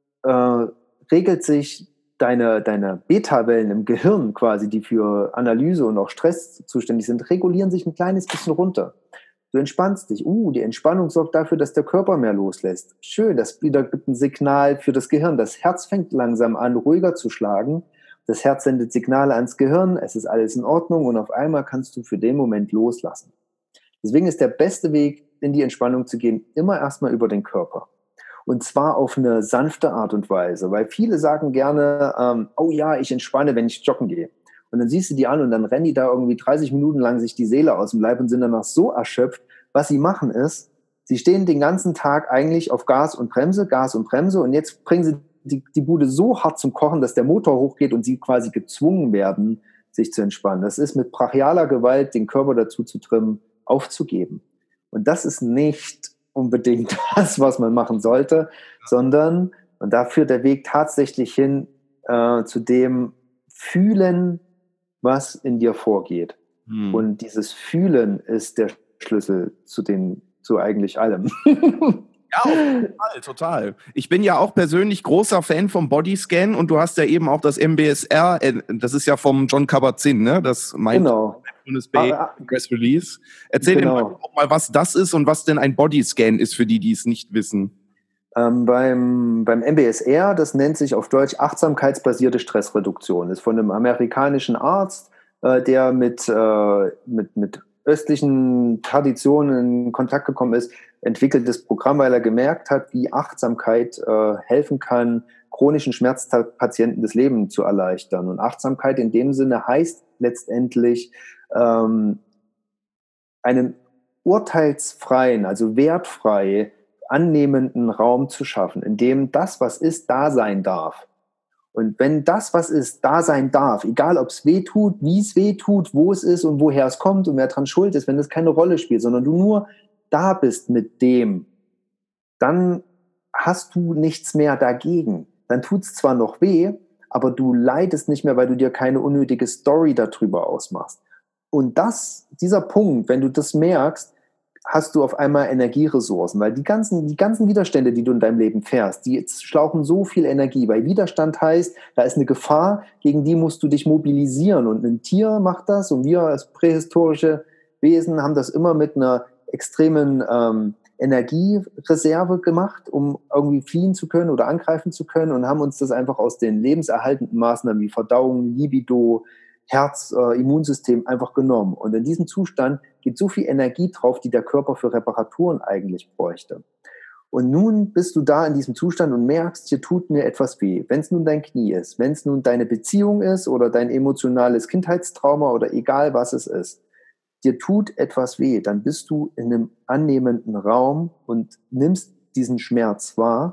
äh, regelt sich deine, deine Beta-Wellen im Gehirn quasi, die für Analyse und auch Stress zuständig sind, regulieren sich ein kleines bisschen runter. Du entspannst dich. Uh, die Entspannung sorgt dafür, dass der Körper mehr loslässt. Schön, das wieder gibt ein Signal für das Gehirn. Das Herz fängt langsam an, ruhiger zu schlagen, Das Herz sendet Signale ans Gehirn, es ist alles in Ordnung und auf einmal kannst du für den Moment loslassen. Deswegen ist der beste Weg, in die Entspannung zu gehen, immer erstmal über den Körper. Und zwar auf eine sanfte Art und Weise, weil viele sagen gerne, ähm, oh ja, ich entspanne, wenn ich joggen gehe. Und dann siehst du die an und dann rennen die da irgendwie dreißig Minuten lang sich die Seele aus dem Leib und sind danach so erschöpft. Was sie machen ist, sie stehen den ganzen Tag eigentlich auf Gas und Bremse, Gas und Bremse und jetzt bringen sie die, die Bude so hart zum Kochen, dass der Motor hochgeht und sie quasi gezwungen werden, sich zu entspannen. Das ist mit brachialer Gewalt, den Körper dazu zu trimmen, aufzugeben. Und das ist nicht unbedingt das, was man machen sollte, sondern, und da führt der Weg tatsächlich hin äh, zu dem Fühlen, was in dir vorgeht. Hm. Und dieses Fühlen ist der Schlüssel zu den, zu eigentlich allem. Ja, total, total. Ich bin ja auch persönlich großer Fan vom Bodyscan und du hast ja eben auch das M B S R, das ist ja vom John Kabat-Zinn, ne? Das meint genau. Bay ah, Press Release. Erzähl genau. Dem auch mal, was das ist und was denn ein Bodyscan ist für die, die es nicht wissen. Ähm, beim, beim M B S R, das nennt sich auf Deutsch achtsamkeitsbasierte Stressreduktion. Das ist von einem amerikanischen Arzt, äh, der mit, äh, mit, mit östlichen Traditionen in Kontakt gekommen ist, entwickeltes Programm, weil er gemerkt hat, wie Achtsamkeit äh, helfen kann, chronischen Schmerzpatienten das Leben zu erleichtern. Und Achtsamkeit in dem Sinne heißt letztendlich, ähm, einen urteilsfreien, also wertfrei annehmenden Raum zu schaffen, in dem das, was ist, da sein darf. Und wenn das, was ist, da sein darf, egal ob es weh tut, wie es weh tut, wo es ist und woher es kommt und wer dran schuld ist, wenn das keine Rolle spielt, sondern du nur da bist mit dem, dann hast du nichts mehr dagegen. Dann tut es zwar noch weh, aber du leidest nicht mehr, weil du dir keine unnötige Story darüber ausmachst. Und das, dieser Punkt, wenn du das merkst, hast du auf einmal Energieressourcen, weil die ganzen, die ganzen Widerstände, die du in deinem Leben fährst, die schlauchen so viel Energie, weil Widerstand heißt, da ist eine Gefahr, gegen die musst du dich mobilisieren und ein Tier macht das und wir als prähistorische Wesen haben das immer mit einer extremen ähm, Energiereserve gemacht, um irgendwie fliehen zu können oder angreifen zu können und haben uns das einfach aus den lebenserhaltenden Maßnahmen wie Verdauung, Libido, Herz, äh, Immunsystem einfach genommen. Und in diesem Zustand geht so viel Energie drauf, die der Körper für Reparaturen eigentlich bräuchte. Und nun bist du da in diesem Zustand und merkst, hier tut mir etwas weh. Wenn es nun dein Knie ist, wenn es nun deine Beziehung ist oder dein emotionales Kindheitstrauma oder egal was es ist, dir tut etwas weh, dann bist du in einem annehmenden Raum und nimmst diesen Schmerz wahr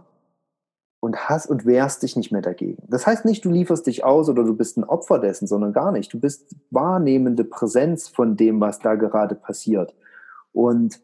und hast und wehrst dich nicht mehr dagegen. Das heißt nicht, du lieferst dich aus oder du bist ein Opfer dessen, sondern gar nicht. Du bist wahrnehmende Präsenz von dem, was da gerade passiert. Und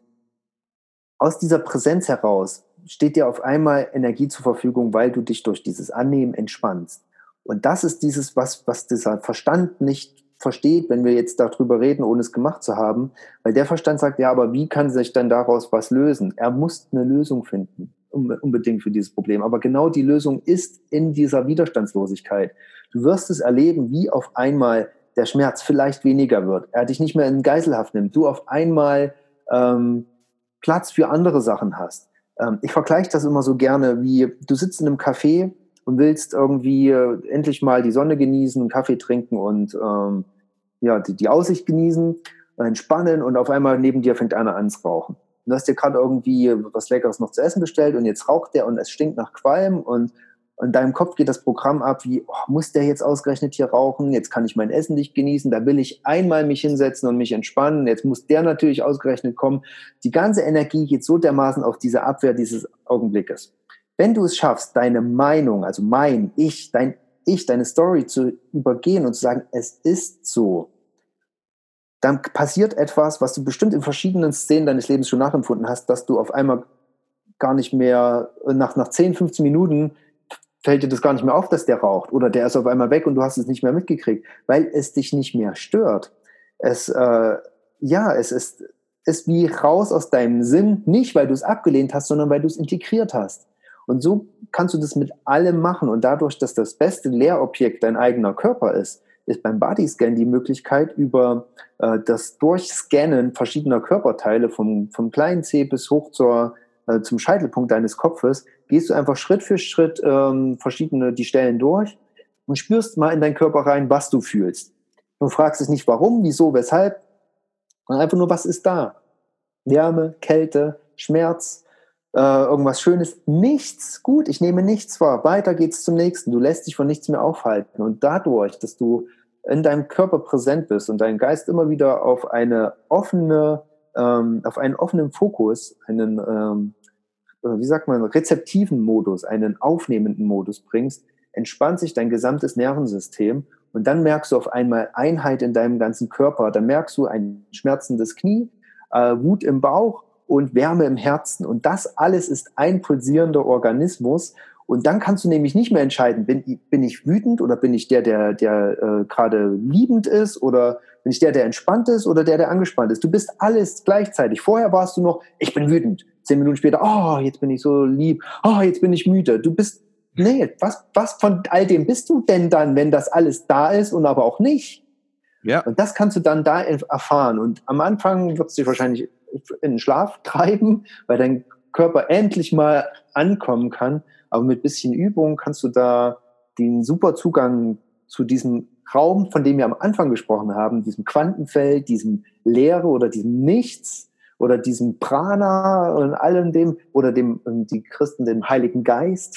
aus dieser Präsenz heraus steht dir auf einmal Energie zur Verfügung, weil du dich durch dieses Annehmen entspannst. Und das ist dieses, was, was dieser Verstand nicht versteht, wenn wir jetzt darüber reden, ohne es gemacht zu haben, weil der Verstand sagt, ja, aber wie kann sich dann daraus was lösen? Er muss eine Lösung finden, unbedingt für dieses Problem. Aber genau die Lösung ist in dieser Widerstandslosigkeit. Du wirst es erleben, wie auf einmal der Schmerz vielleicht weniger wird. Er dich nicht mehr in Geiselhaft nimmt. Du auf einmal ähm, Platz für andere Sachen hast. Ähm, ich vergleiche das immer so gerne, wie du sitzt in einem Café und willst irgendwie äh, endlich mal die Sonne genießen, einen Kaffee trinken und ähm, ja, die, die Aussicht genießen, entspannen und auf einmal neben dir fängt einer an zu rauchen. Du hast dir gerade irgendwie was Leckeres noch zu essen bestellt und jetzt raucht der und es stinkt nach Qualm und in deinem Kopf geht das Programm ab wie, oh, muss der jetzt ausgerechnet hier rauchen? Jetzt kann ich mein Essen nicht genießen, da will ich einmal mich hinsetzen und mich entspannen. Jetzt muss der natürlich ausgerechnet kommen. Die ganze Energie geht so dermaßen auf diese Abwehr dieses Augenblickes. Wenn du es schaffst, deine Meinung, also mein, ich, dein Ich, deine Story zu übergehen und zu sagen, es ist so, dann passiert etwas, was du bestimmt in verschiedenen Szenen deines Lebens schon nachempfunden hast, dass du auf einmal gar nicht mehr, nach, nach zehn, fünfzehn Minuten fällt dir das gar nicht mehr auf, dass der raucht oder der ist auf einmal weg und du hast es nicht mehr mitgekriegt, weil es dich nicht mehr stört. Es, äh, ja, es ist, ist wie raus aus deinem Sinn, nicht weil du es abgelehnt hast, sondern weil du es integriert hast. Und so kannst du das mit allem machen und dadurch, dass das beste Lehrobjekt dein eigener Körper ist, ist beim Bodyscan die Möglichkeit, über äh, das Durchscannen verschiedener Körperteile, vom, vom kleinen Zeh bis hoch zur, äh, zum Scheitelpunkt deines Kopfes, gehst du einfach Schritt für Schritt ähm, verschiedene die Stellen durch und spürst mal in deinen Körper rein, was du fühlst. Du fragst dich nicht warum, wieso, weshalb, sondern einfach nur, was ist da? Wärme, Kälte, Schmerz, äh, irgendwas Schönes, nichts. Gut, ich nehme nichts wahr. Weiter geht's zum nächsten. Du lässt dich von nichts mehr aufhalten. Und dadurch, dass du in deinem Körper präsent bist und dein Geist immer wieder auf eine offene, ähm, auf einen offenen Fokus, einen, ähm, wie sagt man, rezeptiven Modus, einen aufnehmenden Modus bringst, entspannt sich dein gesamtes Nervensystem und dann merkst du auf einmal Einheit in deinem ganzen Körper. Dann merkst du ein schmerzendes Knie, äh, Wut im Bauch und Wärme im Herzen. Und das alles ist ein pulsierender Organismus. Und dann kannst du nämlich nicht mehr entscheiden, bin, bin ich wütend oder bin ich der, der, der äh, gerade liebend ist oder bin ich der, der entspannt ist oder der, der angespannt ist. Du bist alles gleichzeitig. Vorher warst du noch, ich bin wütend. Zehn Minuten später, oh, jetzt bin ich so lieb. Oh, jetzt bin ich müde. Du bist, nee, was, was von all dem bist du denn dann, wenn das alles da ist und aber auch nicht? Ja. Und das kannst du dann da erfahren. Und am Anfang wird es dich wahrscheinlich in den Schlaf treiben, weil dein Körper endlich mal ankommen kann. Aber mit bisschen Übung kannst du da den super Zugang zu diesem Raum, von dem wir am Anfang gesprochen haben, diesem Quantenfeld, diesem Leere oder diesem Nichts oder diesem Prana und allem dem, oder dem, die Christen, dem Heiligen Geist.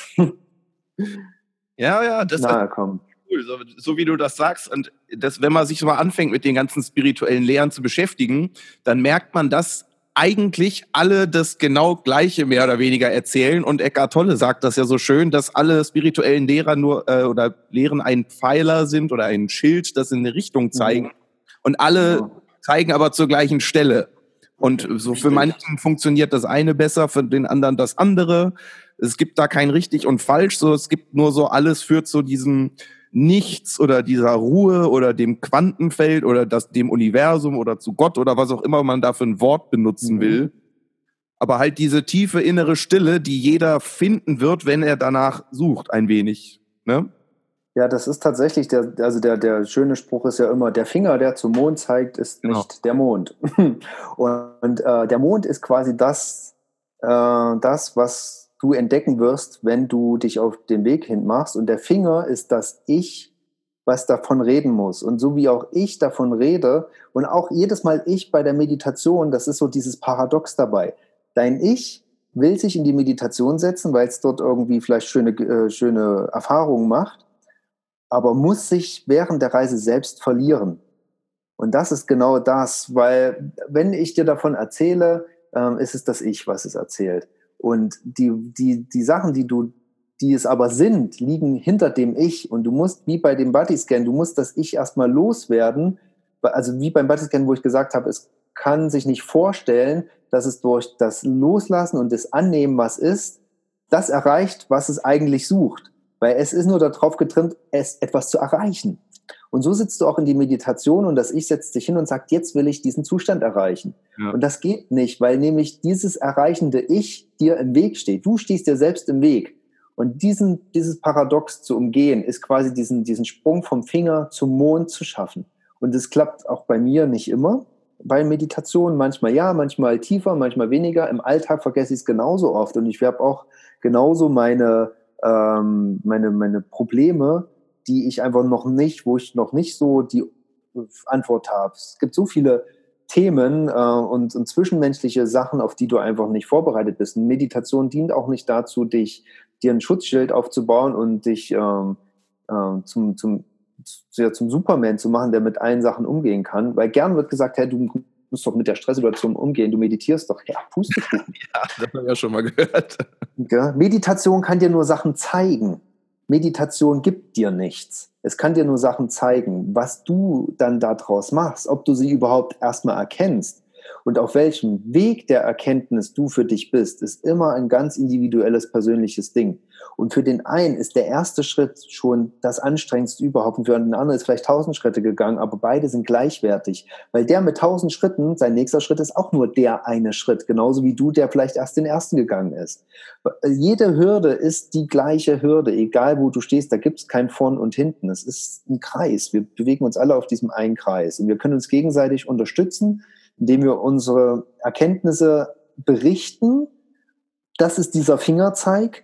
Ja, ja, das nahe kommen. Cool, so, so wie du das sagst. Und das, wenn man sich so mal anfängt, mit den ganzen spirituellen Lehren zu beschäftigen, dann merkt man, dass eigentlich alle das genau Gleiche mehr oder weniger erzählen. Und Eckhart Tolle sagt das ja so schön, dass alle spirituellen Lehrer nur äh, oder Lehren ein Pfeiler sind oder ein Schild, das in eine Richtung zeigen. Mhm. Und alle ja. zeigen aber zur gleichen Stelle. Und so für manchen funktioniert das eine besser, für den anderen das andere. Es gibt da kein richtig und falsch. So, es gibt nur so, alles führt zu diesem Nichts oder dieser Ruhe oder dem Quantenfeld oder das, dem Universum oder zu Gott oder was auch immer man da für ein Wort benutzen mhm. will. Aber halt diese tiefe innere Stille, die jeder finden wird, wenn er danach sucht, ein wenig. Ne? Ja, das ist tatsächlich, der, also der, der schöne Spruch ist ja immer, der Finger, der zum Mond zeigt, ist genau. nicht der Mond. Und äh, der Mond ist quasi das, äh, das, was du entdecken wirst, wenn du dich auf den Weg hin machst. Und der Finger ist das Ich, was davon reden muss. Und so wie auch ich davon rede und auch jedes Mal ich bei der Meditation, das ist so dieses Paradox dabei. Dein Ich will sich in die Meditation setzen, weil es dort irgendwie vielleicht schöne, äh, schöne Erfahrungen macht, aber muss sich während der Reise selbst verlieren. Und das ist genau das, weil wenn ich dir davon erzähle, ähm, ist es das Ich, was es erzählt. Und die, die, die Sachen, die du, die es aber sind, liegen hinter dem Ich. Und du musst, wie bei dem Bodyscan, du musst das Ich erstmal loswerden. Also wie beim Bodyscan, wo ich gesagt habe, es kann sich nicht vorstellen, dass es durch das Loslassen und das Annehmen, was ist, das erreicht, was es eigentlich sucht. Weil es ist nur darauf getrimmt, es etwas zu erreichen. Und so sitzt du auch in die Meditation und das Ich setzt sich hin und sagt, jetzt will ich diesen Zustand erreichen. Ja. Und das geht nicht, weil nämlich dieses erreichende Ich dir im Weg steht. Du stehst dir selbst im Weg. Und diesen, dieses Paradox zu umgehen, ist quasi diesen, diesen Sprung vom Finger zum Mond zu schaffen. Und das klappt auch bei mir nicht immer. Bei Meditationen manchmal ja, manchmal tiefer, manchmal weniger. Im Alltag vergesse ich es genauso oft. Und ich habe auch genauso meine, ähm, meine, meine Probleme, die ich einfach noch nicht, wo ich noch nicht so die Antwort habe. Es gibt so viele Themen äh, und, und zwischenmenschliche Sachen, auf die du einfach nicht vorbereitet bist. Und Meditation dient auch nicht dazu, dich dir ein Schutzschild aufzubauen und dich ähm, äh, zum, zum, ja, zum Superman zu machen, der mit allen Sachen umgehen kann. Weil gern wird gesagt, hey, du musst doch mit der Stresssituation umgehen, du meditierst doch. Ja, Pustekuchen. Ja, das haben wir ja schon mal gehört. Ja, Meditation kann dir nur Sachen zeigen. Meditation gibt dir nichts. Es kann dir nur Sachen zeigen, was du dann daraus machst, ob du sie überhaupt erstmal erkennst und auf welchem Weg der Erkenntnis du für dich bist, ist immer ein ganz individuelles, persönliches Ding. Und für den einen ist der erste Schritt schon das anstrengendste überhaupt und für den anderen ist vielleicht tausend Schritte gegangen, aber beide sind gleichwertig, weil der mit tausend Schritten, sein nächster Schritt ist auch nur der eine Schritt, genauso wie du, der vielleicht erst den ersten gegangen ist. Jede Hürde ist die gleiche Hürde, egal wo du stehst, da gibt es kein Vorn und Hinten, es ist ein Kreis, wir bewegen uns alle auf diesem einen Kreis und wir können uns gegenseitig unterstützen, indem wir unsere Erkenntnisse berichten. Das ist dieser Fingerzeig.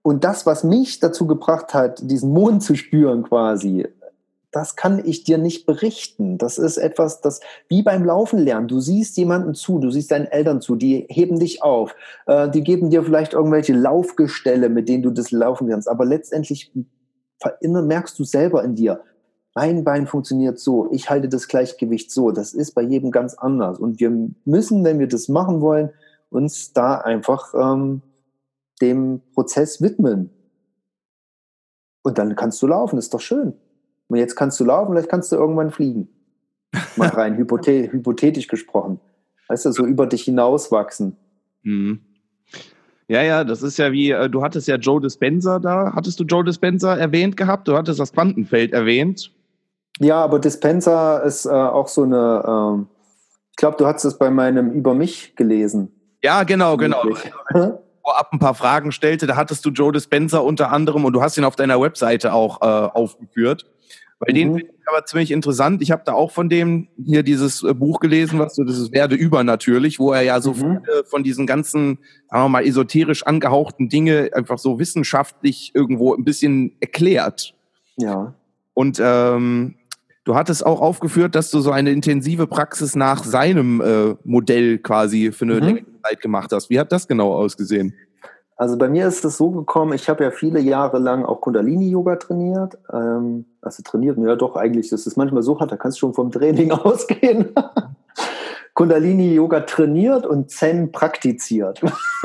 Und das, was mich dazu gebracht hat, diesen Mond zu spüren quasi, das kann ich dir nicht berichten. Das ist etwas, das wie beim Laufen lernen. Du siehst jemanden zu, du siehst deinen Eltern zu, die heben dich auf, äh, die geben dir vielleicht irgendwelche Laufgestelle, mit denen du das laufen kannst. Aber letztendlich merkst du selber in dir, mein Bein funktioniert so, ich halte das Gleichgewicht so. Das ist bei jedem ganz anders. Und wir müssen, wenn wir das machen wollen, uns da einfach ähm, dem Prozess widmen. Und dann kannst du laufen, ist doch schön. Und jetzt kannst du laufen, vielleicht kannst du irgendwann fliegen. Mal rein hypothe- hypothetisch gesprochen. Weißt du, so über dich hinauswachsen. Mhm. Ja, ja, das ist ja wie, äh, du hattest ja Joe Dispenza da. Hattest du Joe Dispenza erwähnt gehabt? Du hattest das Quantenfeld erwähnt. Ja, aber Dispenza ist äh, auch so eine, ähm, ich glaube, du hast es bei meinem Über mich gelesen. Ja, genau, genau. Vorab ein paar Fragen stellte, da hattest du Joe Dispenza unter anderem und du hast ihn auf deiner Webseite auch äh, aufgeführt. Bei mhm. denen finde ich aber ziemlich interessant. Ich habe da auch von dem hier dieses äh, Buch gelesen, was so dieses Werde übernatürlich, wo er ja so mhm. viele von diesen ganzen, sagen wir mal, esoterisch angehauchten Dinge einfach so wissenschaftlich irgendwo ein bisschen erklärt. Ja. Und ähm, du hattest auch aufgeführt, dass du so eine intensive Praxis nach seinem äh, Modell quasi für eine mhm. längere Zeit gemacht hast. Wie hat das genau ausgesehen? Also bei mir ist es so gekommen, ich habe ja viele Jahre lang auch Kundalini-Yoga trainiert. Ähm, also trainiert, ja doch eigentlich, das ist manchmal so hart, da kannst du schon vom Training ausgehen. Kundalini-Yoga trainiert und Zen praktiziert.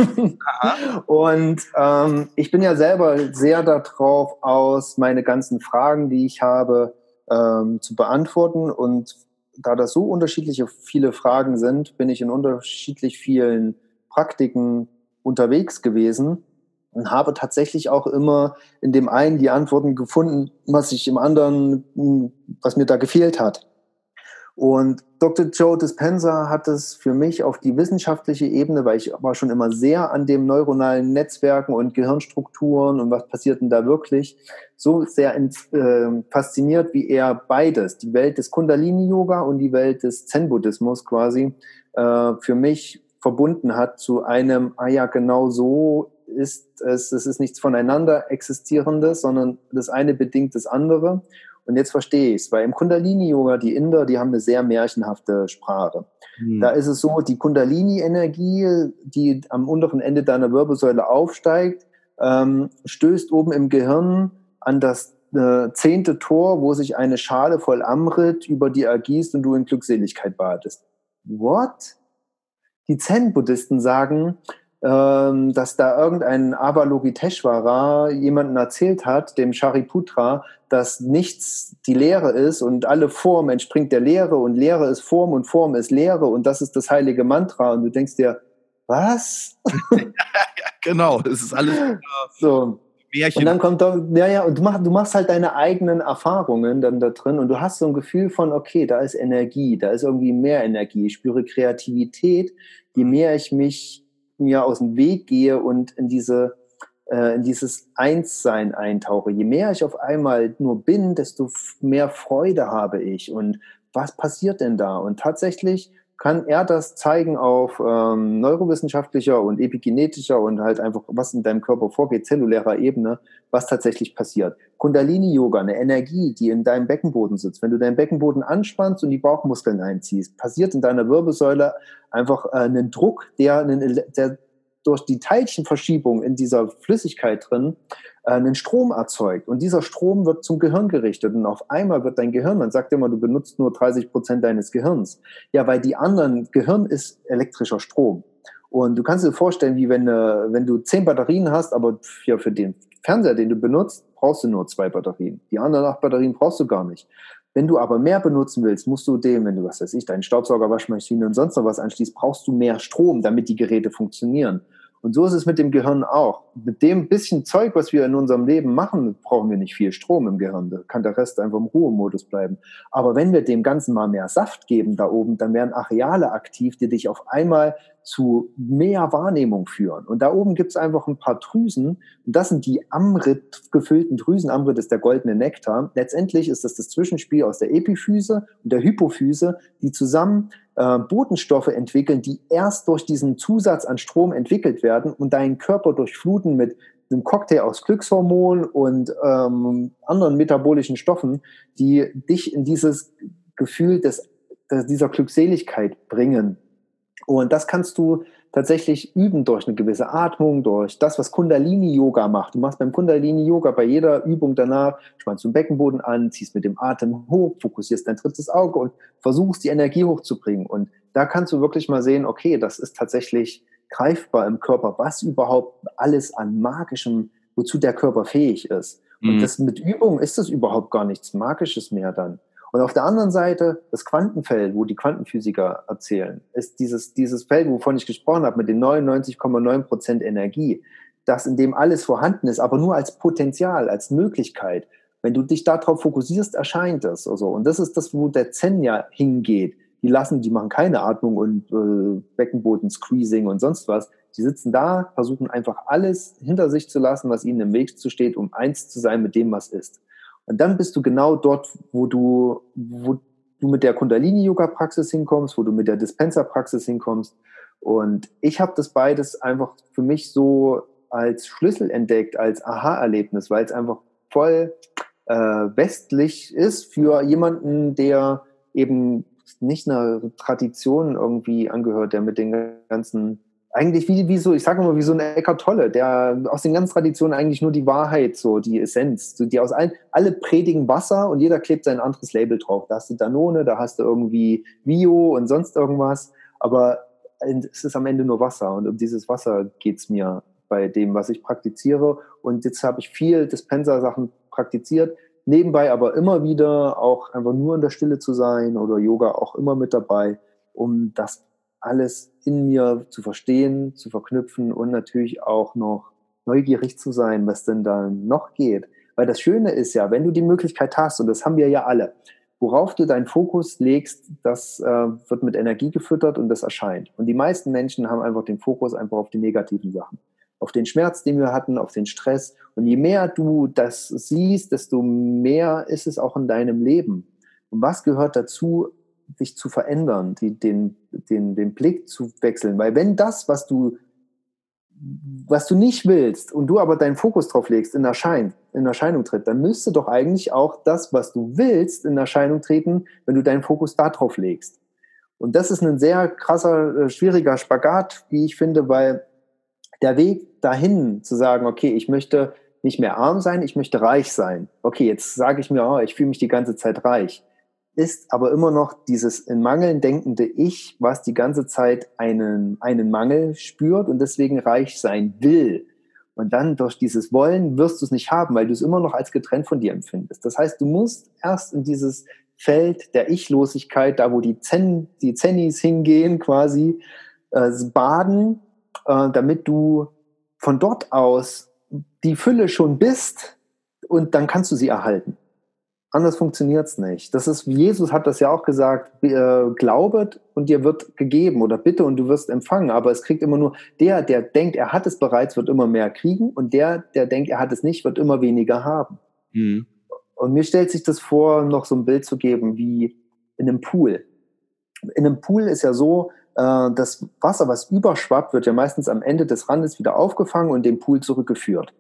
Und ähm, ich bin ja selber sehr darauf aus, meine ganzen Fragen, die ich habe, ähm, zu beantworten. Und da das so unterschiedliche viele Fragen sind, bin ich in unterschiedlich vielen Praktiken unterwegs gewesen und habe tatsächlich auch immer in dem einen die Antworten gefunden, was ich im anderen, was mir da gefehlt hat. Und Doktor Joe Dispenza hat es für mich auf die wissenschaftliche Ebene, weil ich war schon immer sehr an dem neuronalen Netzwerken und Gehirnstrukturen und was passiert denn da wirklich, so sehr äh, fasziniert, wie er beides, die Welt des Kundalini-Yoga und die Welt des Zen-Buddhismus quasi, äh, für mich verbunden hat zu einem, ah ja, genau so ist es, es ist nichts voneinander Existierendes, sondern das eine bedingt das andere. Und jetzt verstehe ich es, weil im Kundalini-Yoga, die Inder, die haben eine sehr märchenhafte Sprache. Hm. Da ist es so, die Kundalini-Energie, die am unteren Ende deiner Wirbelsäule aufsteigt, ähm, stößt oben im Gehirn an das äh, zehnte Tor, wo sich eine Schale voll Amrit über dir ergießt und du in Glückseligkeit badest. What? Die Zen-Buddhisten sagen, ähm, dass da irgendein Avalokiteshvara jemanden erzählt hat, dem Shariputra, dass nichts die Lehre ist und alle Form entspringt der Lehre und Lehre ist Form und Form ist Lehre und das ist das heilige Mantra und du denkst dir, was? Ja, genau, das ist alles äh, so. Märchen. Und dann kommt da, ja, ja, und du machst, du machst halt deine eigenen Erfahrungen dann da drin und du hast so ein Gefühl von, okay, da ist Energie, da ist irgendwie mehr Energie, ich spüre Kreativität, je mehr ich mich mir aus dem Weg gehe und in diese, äh, in dieses Einssein eintauche. Je mehr ich auf einmal nur bin, desto mehr Freude habe ich und was passiert denn da? Und tatsächlich kann er das zeigen auf ähm, neurowissenschaftlicher und epigenetischer und halt einfach, was in deinem Körper vorgeht, zellulärer Ebene, was tatsächlich passiert. Kundalini-Yoga, eine Energie, die in deinem Beckenboden sitzt. Wenn du deinen Beckenboden anspannst und die Bauchmuskeln einziehst, passiert in deiner Wirbelsäule einfach äh, einen Druck, der, einen, der durch die Teilchenverschiebung in dieser Flüssigkeit drin äh, einen Strom erzeugt. Und dieser Strom wird zum Gehirn gerichtet. Und auf einmal wird dein Gehirn, man sagt immer, du benutzt nur dreißig Prozent deines Gehirns. Ja, weil die anderen, Gehirn ist elektrischer Strom. Und du kannst dir vorstellen, wie wenn, äh, wenn du zehn Batterien hast, aber ja, für den Fernseher, den du benutzt, brauchst du nur zwei Batterien. Die anderen acht Batterien brauchst du gar nicht. Wenn du aber mehr benutzen willst, musst du dem, wenn du, was weiß ich, deinen Staubsauger, Waschmaschine und sonst noch was anschließt, brauchst du mehr Strom, damit die Geräte funktionieren. Und so ist es mit dem Gehirn auch. Mit dem bisschen Zeug, was wir in unserem Leben machen, brauchen wir nicht viel Strom im Gehirn. Da kann der Rest einfach im Ruhemodus bleiben. Aber wenn wir dem Ganzen mal mehr Saft geben da oben, dann werden Areale aktiv, die dich auf einmal zu mehr Wahrnehmung führen. Und da oben gibt es einfach ein paar Drüsen. Und das sind die Amrit gefüllten Drüsen. Amrit ist der goldene Nektar. Letztendlich ist das das Zwischenspiel aus der Epiphyse und der Hypophyse, die zusammen äh, Botenstoffe entwickeln, die erst durch diesen Zusatz an Strom entwickelt werden und deinen Körper durchfluten mit einem Cocktail aus Glückshormonen und ähm, anderen metabolischen Stoffen, die dich in dieses Gefühl des, des, dieser Glückseligkeit bringen. Und das kannst du tatsächlich üben durch eine gewisse Atmung, durch das, was Kundalini-Yoga macht. Du machst beim Kundalini-Yoga bei jeder Übung danach, spannst du den Beckenboden an, ziehst mit dem Atem hoch, fokussierst dein drittes Auge und versuchst, die Energie hochzubringen. Und da kannst du wirklich mal sehen, okay, das ist tatsächlich greifbar im Körper, was überhaupt alles an Magischem, wozu der Körper fähig ist. Und mhm. das mit Übung ist das überhaupt gar nichts Magisches mehr dann. Und auf der anderen Seite, das Quantenfeld, wo die Quantenphysiker erzählen, ist dieses, dieses Feld, wovon ich gesprochen habe, mit den neunundneunzig Komma neun Prozent Energie, das in dem alles vorhanden ist, aber nur als Potenzial, als Möglichkeit. Wenn du dich darauf fokussierst, erscheint es. Also, und das ist das, wo der Zen ja hingeht. Die lassen, die machen keine Atmung und äh, Beckenboden-Squeezing und sonst was. Die sitzen da, versuchen einfach alles hinter sich zu lassen, was ihnen im Weg steht, um eins zu sein mit dem, was ist. Und dann bist du genau dort, wo du, wo du mit der Kundalini-Yoga-Praxis hinkommst, wo du mit der Dispenser-Praxis hinkommst. Und ich habe das beides einfach für mich so als Schlüssel entdeckt, als Aha-Erlebnis, weil es einfach voll äh, westlich ist für jemanden, der eben nicht einer Tradition irgendwie angehört, der mit den ganzen eigentlich wie, wie so, ich sage mal, wie so ein Eckhart Tolle, der aus den ganzen Traditionen eigentlich nur die Wahrheit, so die Essenz, so die aus allen, alle predigen Wasser und jeder klebt sein anderes Label drauf. Da hast du Danone, da hast du irgendwie Bio und sonst irgendwas, aber es ist am Ende nur Wasser und um dieses Wasser geht's mir bei dem, was ich praktiziere. Und jetzt habe ich viel Dispenser-Sachen praktiziert, nebenbei aber immer wieder auch einfach nur in der Stille zu sein oder Yoga auch immer mit dabei, um das alles in mir zu verstehen, zu verknüpfen und natürlich auch noch neugierig zu sein, was denn da noch geht. Weil das Schöne ist ja, wenn du die Möglichkeit hast, und das haben wir ja alle, worauf du deinen Fokus legst, das äh, wird mit Energie gefüttert und das erscheint. Und die meisten Menschen haben einfach den Fokus einfach auf die negativen Sachen. Auf den Schmerz, den wir hatten, auf den Stress. Und je mehr du das siehst, desto mehr ist es auch in deinem Leben. Und was gehört dazu, dich zu verändern, die, den, den, den Blick zu wechseln. Weil wenn das, was du, was du nicht willst und du aber deinen Fokus drauf legst, in Erschein, in Erscheinung tritt, dann müsste doch eigentlich auch das, was du willst, in Erscheinung treten, wenn du deinen Fokus da drauf legst. Und das ist ein sehr krasser, schwieriger Spagat, wie ich finde, weil der Weg dahin zu sagen, okay, ich möchte nicht mehr arm sein, ich möchte reich sein. Okay, jetzt sage ich mir, oh, ich fühle mich die ganze Zeit reich. Ist aber immer noch dieses in Mangeln denkende Ich, was die ganze Zeit einen, einen Mangel spürt und deswegen reich sein will. Und dann durch dieses Wollen wirst du es nicht haben, weil du es immer noch als getrennt von dir empfindest. Das heißt, du musst erst in dieses Feld der Ichlosigkeit, da wo die Zen, die Zennis hingehen quasi, äh, baden, äh, damit du von dort aus die Fülle schon bist und dann kannst du sie erhalten. Anders funktioniert's nicht. Das ist, Jesus hat das ja auch gesagt, äh, glaubet und dir wird gegeben oder bitte und du wirst empfangen. Aber es kriegt immer nur der, der denkt, er hat es bereits, wird immer mehr kriegen und der, der denkt, er hat es nicht, wird immer weniger haben. Mhm. Und mir stellt sich das vor, noch so ein Bild zu geben wie in einem Pool. In einem Pool ist ja so, äh, das Wasser, was überschwappt, wird ja meistens am Ende des Randes wieder aufgefangen und in den Pool zurückgeführt.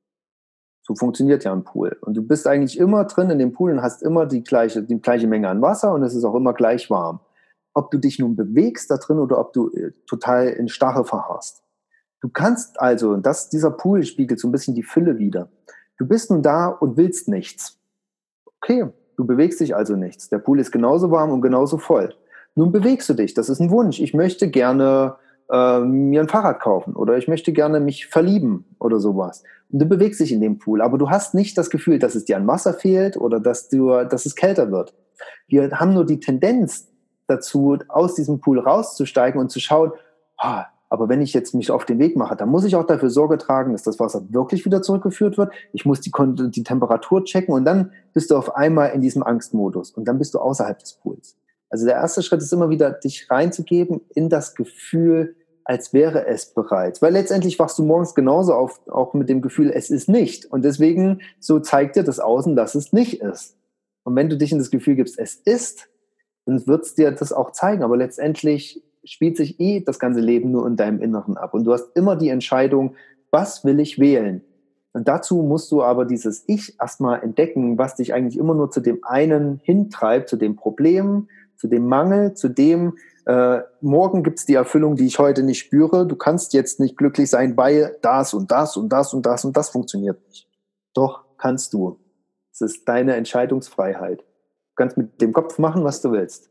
So funktioniert ja ein Pool. Und du bist eigentlich immer drin in dem Pool und hast immer die gleiche, die gleiche Menge an Wasser und es ist auch immer gleich warm. Ob du dich nun bewegst da drin oder ob du total in Starre verharrst. Du kannst also, und das, dieser Pool spiegelt so ein bisschen die Fülle wider. Du bist nun da und willst nichts. Okay, du bewegst dich also nichts. Der Pool ist genauso warm und genauso voll. Nun bewegst du dich. Das ist ein Wunsch. Ich möchte gerne äh, mir ein Fahrrad kaufen oder ich möchte gerne mich verlieben oder sowas. Und du bewegst dich in dem Pool, aber du hast nicht das Gefühl, dass es dir an Wasser fehlt oder dass, du, dass es kälter wird. Wir haben nur die Tendenz dazu, aus diesem Pool rauszusteigen und zu schauen, ah, aber wenn ich jetzt mich auf den Weg mache, dann muss ich auch dafür Sorge tragen, dass das Wasser wirklich wieder zurückgeführt wird. Ich muss die, die Temperatur checken und dann bist du auf einmal in diesem Angstmodus und dann bist du außerhalb des Pools. Also der erste Schritt ist immer wieder, dich reinzugeben in das Gefühl, als wäre es bereits. Weil letztendlich wachst du morgens genauso auf, auch mit dem Gefühl, es ist nicht. Und deswegen, so zeigt dir das Außen, dass es nicht ist. Und wenn du dich in das Gefühl gibst, es ist, dann wird es dir das auch zeigen. Aber letztendlich spielt sich eh das ganze Leben nur in deinem Inneren ab. Und du hast immer die Entscheidung, was will ich wählen? Und dazu musst du aber dieses Ich erstmal entdecken, was dich eigentlich immer nur zu dem einen hintreibt, zu dem Problem, zu dem Mangel, zu dem, äh, morgen gibt's die Erfüllung, die ich heute nicht spüre. Du kannst jetzt nicht glücklich sein, weil das und das und das und das und das funktioniert nicht. Doch, kannst du. Es ist deine Entscheidungsfreiheit. Du kannst mit dem Kopf machen, was du willst.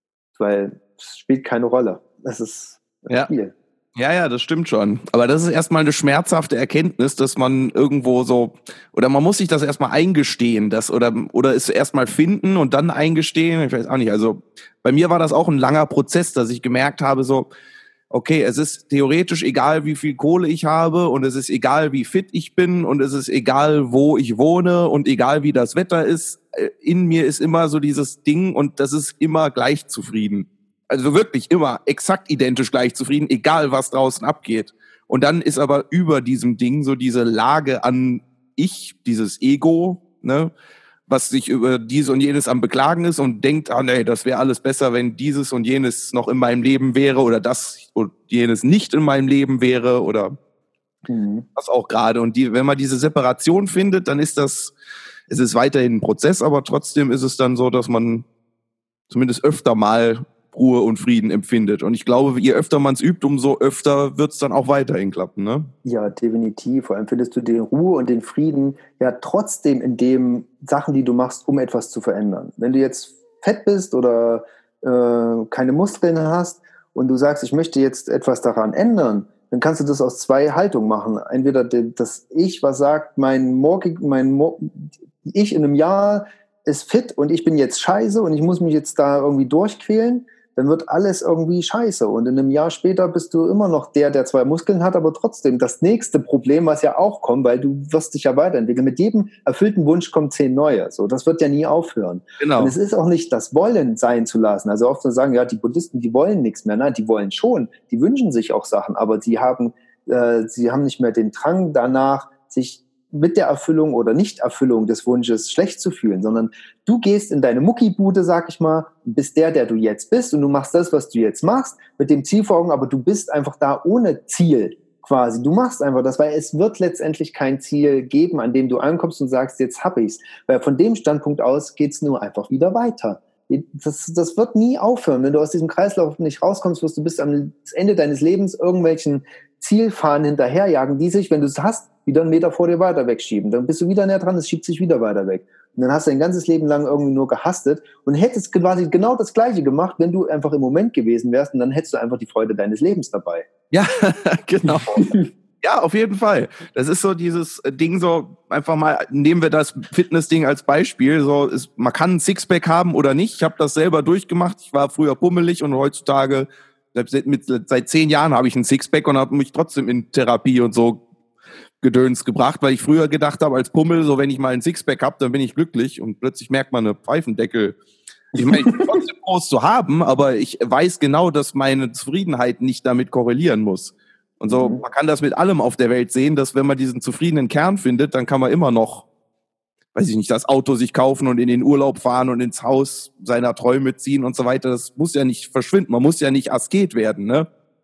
Weil es spielt keine Rolle. Es ist ein Ja. Spiel. Ja, ja, das stimmt schon. Aber das ist erstmal eine schmerzhafte Erkenntnis, dass man irgendwo so, oder man muss sich das erstmal eingestehen, dass, oder, oder es erstmal finden und dann eingestehen. Ich weiß auch nicht. Also bei mir war das auch ein langer Prozess, dass ich gemerkt habe, so, okay, es ist theoretisch egal, wie viel Kohle ich habe und es ist egal, wie fit ich bin und es ist egal, wo ich wohne und egal, wie das Wetter ist. In mir ist immer so dieses Ding und das ist immer gleich zufrieden. Also wirklich immer exakt identisch gleich zufrieden, egal was draußen abgeht. Und dann ist aber über diesem Ding so diese Lage an Ich, dieses Ego, ne, was sich über dies und jenes am Beklagen ist und denkt, ah nee, das wäre alles besser, wenn dieses und jenes noch in meinem Leben wäre oder das und jenes nicht in meinem Leben wäre oder mhm. was auch gerade. Und die, wenn man diese Separation findet, dann ist das, es ist weiterhin ein Prozess, aber trotzdem ist es dann so, dass man zumindest öfter mal Ruhe und Frieden empfindet. Und ich glaube, je öfter man es übt, umso öfter wird es dann auch weiterhin klappen, ne? Ja, definitiv. Vor allem findest du die Ruhe und den Frieden ja trotzdem in den Sachen, die du machst, um etwas zu verändern. Wenn du jetzt fett bist oder äh, keine Muskeln hast und du sagst, ich möchte jetzt etwas daran ändern, dann kannst du das aus zwei Haltungen machen. Entweder das Ich, was sagt, mein morgig, mein Mo- Ich in einem Jahr ist fit und ich bin jetzt scheiße und ich muss mich jetzt da irgendwie durchquälen, dann wird alles irgendwie scheiße. Und in einem Jahr später bist du immer noch der, der zwei Muskeln hat, aber trotzdem das nächste Problem, was ja auch kommt, weil du wirst dich ja weiterentwickeln. Mit jedem erfüllten Wunsch kommen zehn neue. So, das wird ja nie aufhören. Genau. Und es ist auch nicht das Wollen sein zu lassen. Also oft zu sagen, ja, die Buddhisten, die wollen nichts mehr. Nein, die wollen schon. Die wünschen sich auch Sachen, aber sie haben, äh, sie haben nicht mehr den Drang danach, sich mit der Erfüllung oder Nichterfüllung des Wunsches schlecht zu fühlen, sondern du gehst in deine Muckibude, sag ich mal, bist der, der du jetzt bist und du machst das, was du jetzt machst, mit dem Ziel vor Augen, aber du bist einfach da ohne Ziel quasi. Du machst einfach das, weil es wird letztendlich kein Ziel geben, an dem du ankommst und sagst, jetzt hab ich's. Weil von dem Standpunkt aus geht's nur einfach wieder weiter. Das, das wird nie aufhören. Wenn du aus diesem Kreislauf nicht rauskommst, wirst du bis am Ende deines Lebens irgendwelchen Zielfahnen hinterherjagen, die sich, wenn du es hast, wieder einen Meter vor dir weiter wegschieben. Dann bist du wieder näher dran, es schiebt sich wieder weiter weg. Und dann hast du dein ganzes Leben lang irgendwie nur gehastet und hättest quasi genau das Gleiche gemacht, wenn du einfach im Moment gewesen wärst und dann hättest du einfach die Freude deines Lebens dabei. Ja, genau. Ja, auf jeden Fall. Das ist so dieses Ding so, einfach mal, nehmen wir das Fitness-Ding als Beispiel, so ist, man kann ein Sixpack haben oder nicht. Ich habe das selber durchgemacht. Ich war früher pummelig und heutzutage, seit, mit, seit zehn Jahren habe ich ein Sixpack und habe mich trotzdem in Therapie und so Gedöns gebracht, weil ich früher gedacht habe, als Pummel, so wenn ich mal ein Sixpack habe, dann bin ich glücklich und plötzlich merkt man eine Pfeifendeckel. Ich meine, ich bin trotzdem groß zu haben, aber ich weiß genau, dass meine Zufriedenheit nicht damit korrelieren muss. Und so, mhm. man kann das mit allem auf der Welt sehen, dass wenn man diesen zufriedenen Kern findet, dann kann man immer noch, weiß ich nicht, das Auto sich kaufen und in den Urlaub fahren und ins Haus seiner Träume ziehen und so weiter. Das muss ja nicht verschwinden. Man muss ja nicht Asket werden, ne?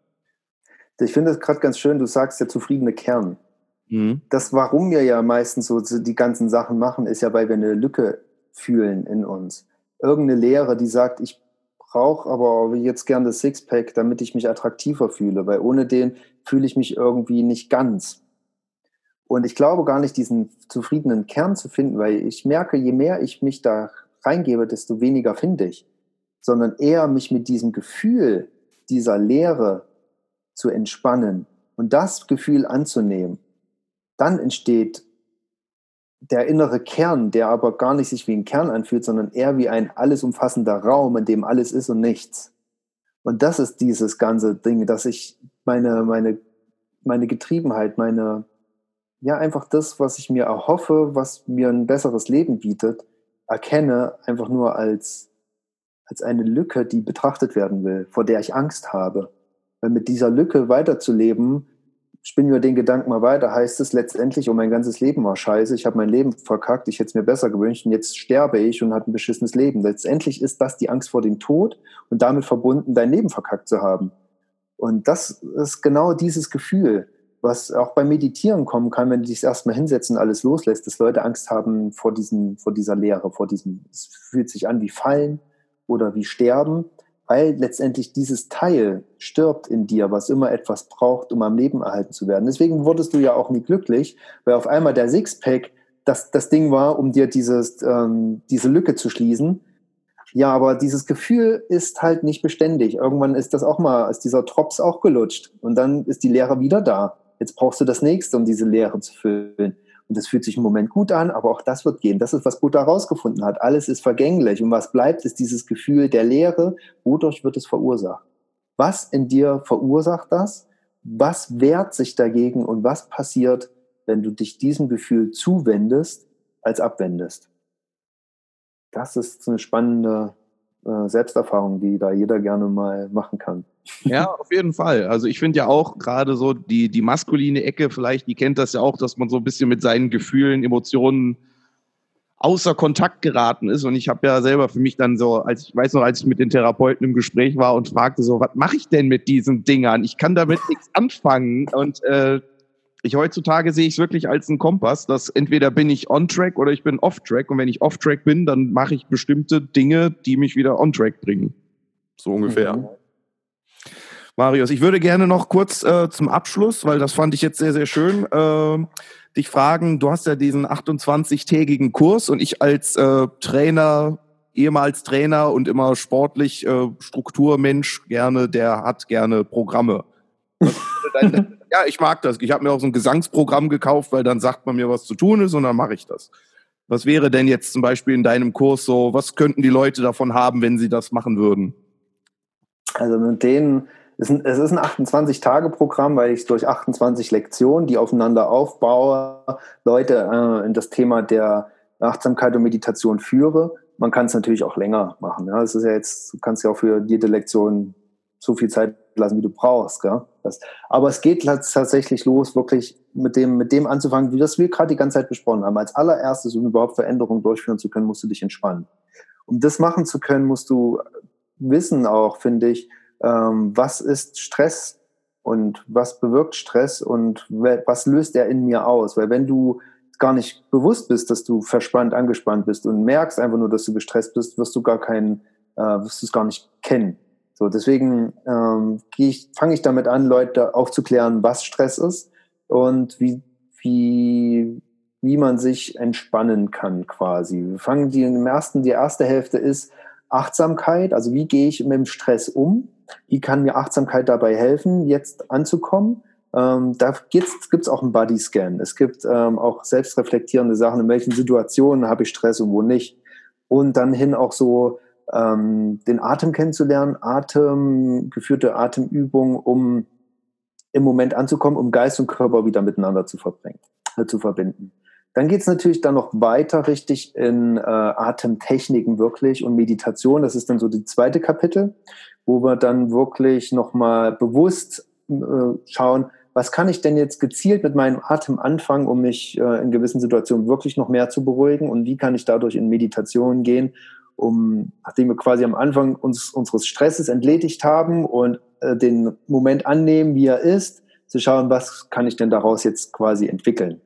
Ich finde es gerade ganz schön, du sagst der zufriedene Kern. Mhm. Das, warum wir ja meistens so die ganzen Sachen machen, ist ja, weil wir eine Lücke fühlen in uns. Irgendeine Leere, die sagt, ich brauche aber jetzt gern das Sixpack, damit ich mich attraktiver fühle, weil ohne den fühle ich mich irgendwie nicht ganz. Und ich glaube gar nicht, diesen zufriedenen Kern zu finden, weil ich merke, je mehr ich mich da reingebe, desto weniger finde ich. Sondern eher mich mit diesem Gefühl dieser Leere zu entspannen und das Gefühl anzunehmen. Dann entsteht der innere Kern, der aber gar nicht sich wie ein Kern anfühlt, sondern eher wie ein alles umfassender Raum, in dem alles ist und nichts. Und das ist dieses ganze Ding, dass ich meine, meine, meine Getriebenheit, meine, ja, einfach das, was ich mir erhoffe, was mir ein besseres Leben bietet, erkenne einfach nur als, als eine Lücke, die betrachtet werden will, vor der ich Angst habe. Weil mit dieser Lücke weiterzuleben, spinnen wir den Gedanken mal weiter, heißt es letztendlich, oh, mein ganzes Leben war scheiße, ich habe mein Leben verkackt, ich hätte es mir besser gewünscht und jetzt sterbe ich und habe ein beschissenes Leben. Letztendlich ist das die Angst vor dem Tod und damit verbunden, dein Leben verkackt zu haben. Und das ist genau dieses Gefühl. was auch beim Meditieren kommen kann, wenn du dich erstmal hinsetzt und alles loslässt, dass Leute Angst haben vor, diesen, vor dieser Leere, vor diesem, es fühlt sich an wie Fallen oder wie Sterben, weil letztendlich dieses Teil stirbt in dir, was immer etwas braucht, um am Leben erhalten zu werden. Deswegen wurdest du ja auch nie glücklich, weil auf einmal der Sixpack das, das Ding war, um dir dieses, ähm, diese Lücke zu schließen. Ja, aber dieses Gefühl ist halt nicht beständig. Irgendwann ist das auch mal, ist dieser Drops auch gelutscht und dann ist die Leere wieder da. Jetzt brauchst du das Nächste, um diese Leere zu füllen. Und das fühlt sich im Moment gut an, aber auch das wird gehen. Das ist, was Buddha herausgefunden hat. Alles ist vergänglich. Und was bleibt, ist dieses Gefühl der Leere. Wodurch wird es verursacht? Was in dir verursacht das? Was wehrt sich dagegen? Und was passiert, wenn du dich diesem Gefühl zuwendest, als abwendest? Das ist eine spannende äh, Selbsterfahrung, die da jeder gerne mal machen kann. Ja, auf jeden Fall. Also ich finde ja auch gerade so die, die maskuline Ecke, vielleicht, die kennt das ja auch, dass man so ein bisschen mit seinen Gefühlen, Emotionen außer Kontakt geraten ist. Und ich habe ja selber für mich dann so, als ich weiß noch, als ich mit den Therapeuten im Gespräch war und fragte so, was mache ich denn mit diesen Dingern? Ich kann damit nichts anfangen. Und äh, ich heutzutage sehe ich es wirklich als einen Kompass, dass entweder bin ich on-track oder ich bin off-track. Und wenn ich off-track bin, dann mache ich bestimmte Dinge, die mich wieder on-track bringen. So ungefähr. Mhm. Marius, ich würde gerne noch kurz äh, zum Abschluss, weil das fand ich jetzt sehr, sehr schön, äh, dich fragen, du hast ja diesen achtundzwanzig-tägigen Kurs und ich als äh, Trainer, ehemals Trainer und immer sportlich äh, Strukturmensch gerne, der hat gerne Programme. Dein, ja, ich mag das. Ich habe mir auch so ein Gesangsprogramm gekauft, weil dann sagt man mir, was zu tun ist und dann mache ich das. Was wäre denn jetzt zum Beispiel in deinem Kurs so, was könnten die Leute davon haben, wenn sie das machen würden? Also mit denen, es ist ein achtundzwanzig-Tage-Programm, weil ich durch achtundzwanzig Lektionen, die aufeinander aufbaue, Leute äh, in das Thema der Achtsamkeit und Meditation führe. Man kann es natürlich auch länger machen. Ja. Das ist ja jetzt, du kannst ja auch für jede Lektion so viel Zeit lassen, wie du brauchst. Gell? Das, aber es geht tatsächlich los, wirklich mit dem, mit dem anzufangen, wie das wir gerade die ganze Zeit besprochen haben. Als allererstes, um überhaupt Veränderungen durchführen zu können, musst du dich entspannen. Um das machen zu können, musst du wissen auch, finde ich, ähm, was ist Stress und was bewirkt Stress und was löst er in mir aus? Weil wenn du gar nicht bewusst bist, dass du verspannt, angespannt bist und merkst einfach nur, dass du gestresst bist, wirst du gar keinen, äh, wirst du es gar nicht kennen. So, deswegen ähm, ich, fange ich damit an, Leute aufzuklären, was Stress ist und wie, wie, wie man sich entspannen kann quasi. Wir fangen die im ersten, die erste Hälfte ist Achtsamkeit, also wie gehe ich mit dem Stress um? Wie kann mir Achtsamkeit dabei helfen, jetzt anzukommen? Ähm, da gibt es auch einen Bodyscan. Es gibt ähm, auch selbstreflektierende Sachen, in welchen Situationen habe ich Stress und wo nicht. Und dann hin auch so ähm, den Atem kennenzulernen, Atem, geführte Atemübungen, um im Moment anzukommen, um Geist und Körper wieder miteinander zu, verbringen, äh, zu verbinden. Dann geht es natürlich dann noch weiter richtig in äh, Atemtechniken wirklich und Meditation. Das ist dann so die zweite Kapitel, wo wir dann wirklich nochmal bewusst äh, schauen, was kann ich denn jetzt gezielt mit meinem Atem anfangen, um mich äh, in gewissen Situationen wirklich noch mehr zu beruhigen und wie kann ich dadurch in Meditation gehen, um, nachdem wir quasi am Anfang uns, unseres Stresses entledigt haben und äh, den Moment annehmen, wie er ist, zu schauen, was kann ich denn daraus jetzt quasi entwickeln.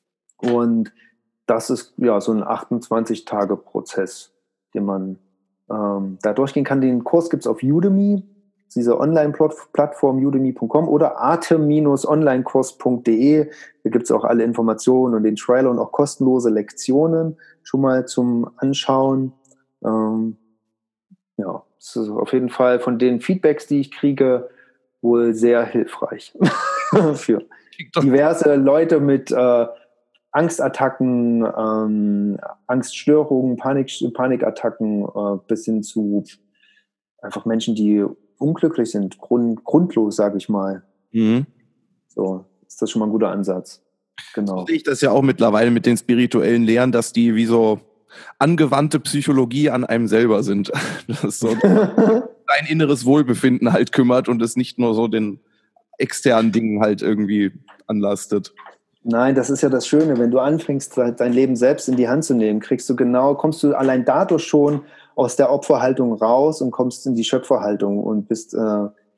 Und das ist ja so ein achtundzwanzig-Tage-Prozess, den man ähm, da durchgehen kann. Den Kurs gibt es auf Udemy, diese Online-Plattform udemy punkt com oder atem Bindestrich onlinekurs punkt de. Da gibt es auch alle Informationen und den Trailer und auch kostenlose Lektionen schon mal zum Anschauen. Ähm, ja, das ist auf jeden Fall von den Feedbacks, die ich kriege, wohl sehr hilfreich für diverse Leute mit äh, Angstattacken, ähm, Angststörungen, Panik, Panikattacken, äh, bis hin zu einfach Menschen, die unglücklich sind, grund, grundlos, sage ich mal. Mhm. So, ist das schon mal ein guter Ansatz. Genau. So sehe ich das ja auch mittlerweile mit den spirituellen Lehren, dass die wie so angewandte Psychologie an einem selber sind. Das ist so dein inneres Wohlbefinden halt kümmert und es nicht nur so den externen Dingen halt irgendwie anlastet. Nein, das ist ja das Schöne, wenn du anfängst, dein Leben selbst in die Hand zu nehmen, kriegst du genau, kommst du allein dadurch schon aus der Opferhaltung raus und kommst in die Schöpferhaltung und bist, äh,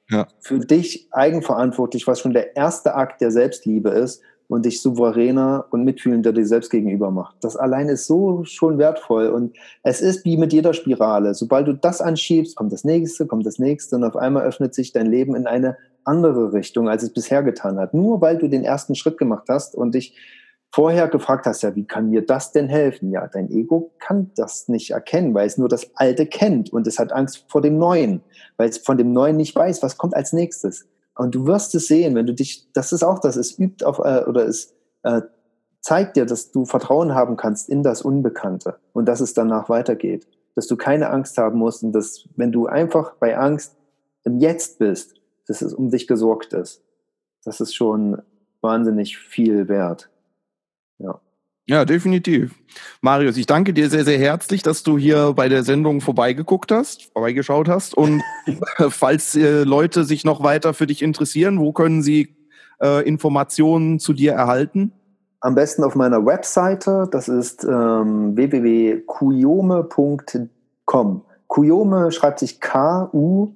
ja. für dich eigenverantwortlich, was schon der erste Akt der Selbstliebe ist und dich souveräner und mitfühlender dir selbst gegenüber macht. Das allein ist so schon wertvoll und es ist wie mit jeder Spirale. Sobald du das anschiebst, kommt das nächste, kommt das nächste und auf einmal öffnet sich dein Leben in eine andere Richtung, als es bisher getan hat. Nur weil du den ersten Schritt gemacht hast und dich vorher gefragt hast, ja, wie kann mir das denn helfen? Ja, dein Ego kann das nicht erkennen, weil es nur das Alte kennt und es hat Angst vor dem Neuen, weil es von dem Neuen nicht weiß, was kommt als nächstes. Und du wirst es sehen, wenn du dich, das ist auch das, es übt auf, äh, oder es äh, zeigt dir, dass du Vertrauen haben kannst in das Unbekannte und dass es danach weitergeht. Dass du keine Angst haben musst und dass, wenn du einfach bei Angst im Jetzt bist, dass es um dich gesorgt ist. Das ist schon wahnsinnig viel wert. Ja. Ja, definitiv. Marius, ich danke dir sehr, sehr herzlich, dass du hier bei der Sendung vorbeigeguckt hast, vorbeigeschaut hast. Und falls äh, Leute sich noch weiter für dich interessieren, wo können sie äh, Informationen zu dir erhalten? Am besten auf meiner Webseite, das ist ähm, w w w punkt kuyome punkt com. Kuyome schreibt sich K U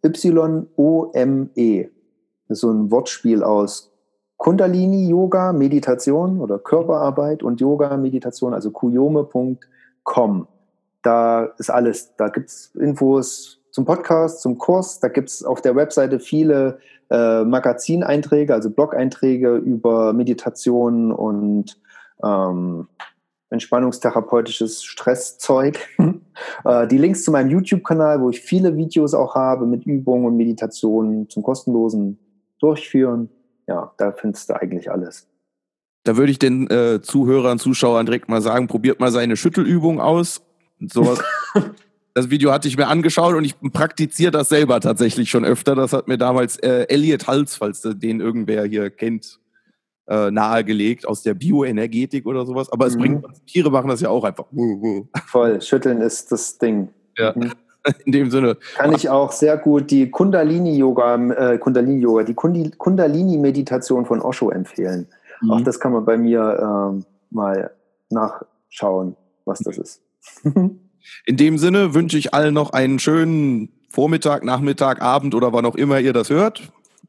Y O M E. Das ist so ein Wortspiel aus Kundalini-Yoga, Meditation oder Körperarbeit und Yoga, Meditation, also kuyome punkt com. Da ist alles. Da gibt es Infos zum Podcast, zum Kurs. Da gibt es auf der Webseite viele äh, Magazineinträge, also Blog-Einträge über Meditation und ähm, entspannungstherapeutisches Stresszeug. äh, die Links zu meinem YouTube-Kanal, wo ich viele Videos auch habe mit Übungen und Meditationen zum kostenlosen Durchführen. Ja, da findest du eigentlich alles. Da würde ich den äh, Zuhörern, Zuschauern direkt mal sagen, probiert mal seine Schüttelübung aus. Sowas. Das Video hatte ich mir angeschaut und ich praktiziere das selber tatsächlich schon öfter. Das hat mir damals äh, Elliot Hals, falls den irgendwer hier kennt, äh, nahegelegt aus der Bioenergetik oder sowas. Aber es Mhm. bringt, Tiere machen das ja auch einfach. Voll, Schütteln ist das Ding. Ja. Mhm. In dem Sinne. Kann ich auch sehr gut die Kundalini-Yoga, äh, Kundalini-Yoga, die Kundi- Kundalini-Meditation von Osho empfehlen. Mhm. Auch das kann man bei mir ähm, mal nachschauen, was das ist. In dem Sinne wünsche ich allen noch einen schönen Vormittag, Nachmittag, Abend oder wann auch immer ihr das hört.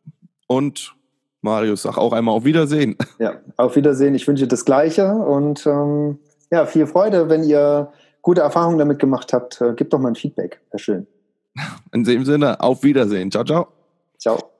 Und Marius, sag auch einmal auf Wiedersehen. Ja, auf Wiedersehen. Ich wünsche das Gleiche und ähm, ja, viel Freude, wenn ihr gute Erfahrungen damit gemacht habt. Äh, gebt doch mal ein Feedback. Wäre schön. In dem Sinne, auf Wiedersehen. Ciao, ciao. Ciao.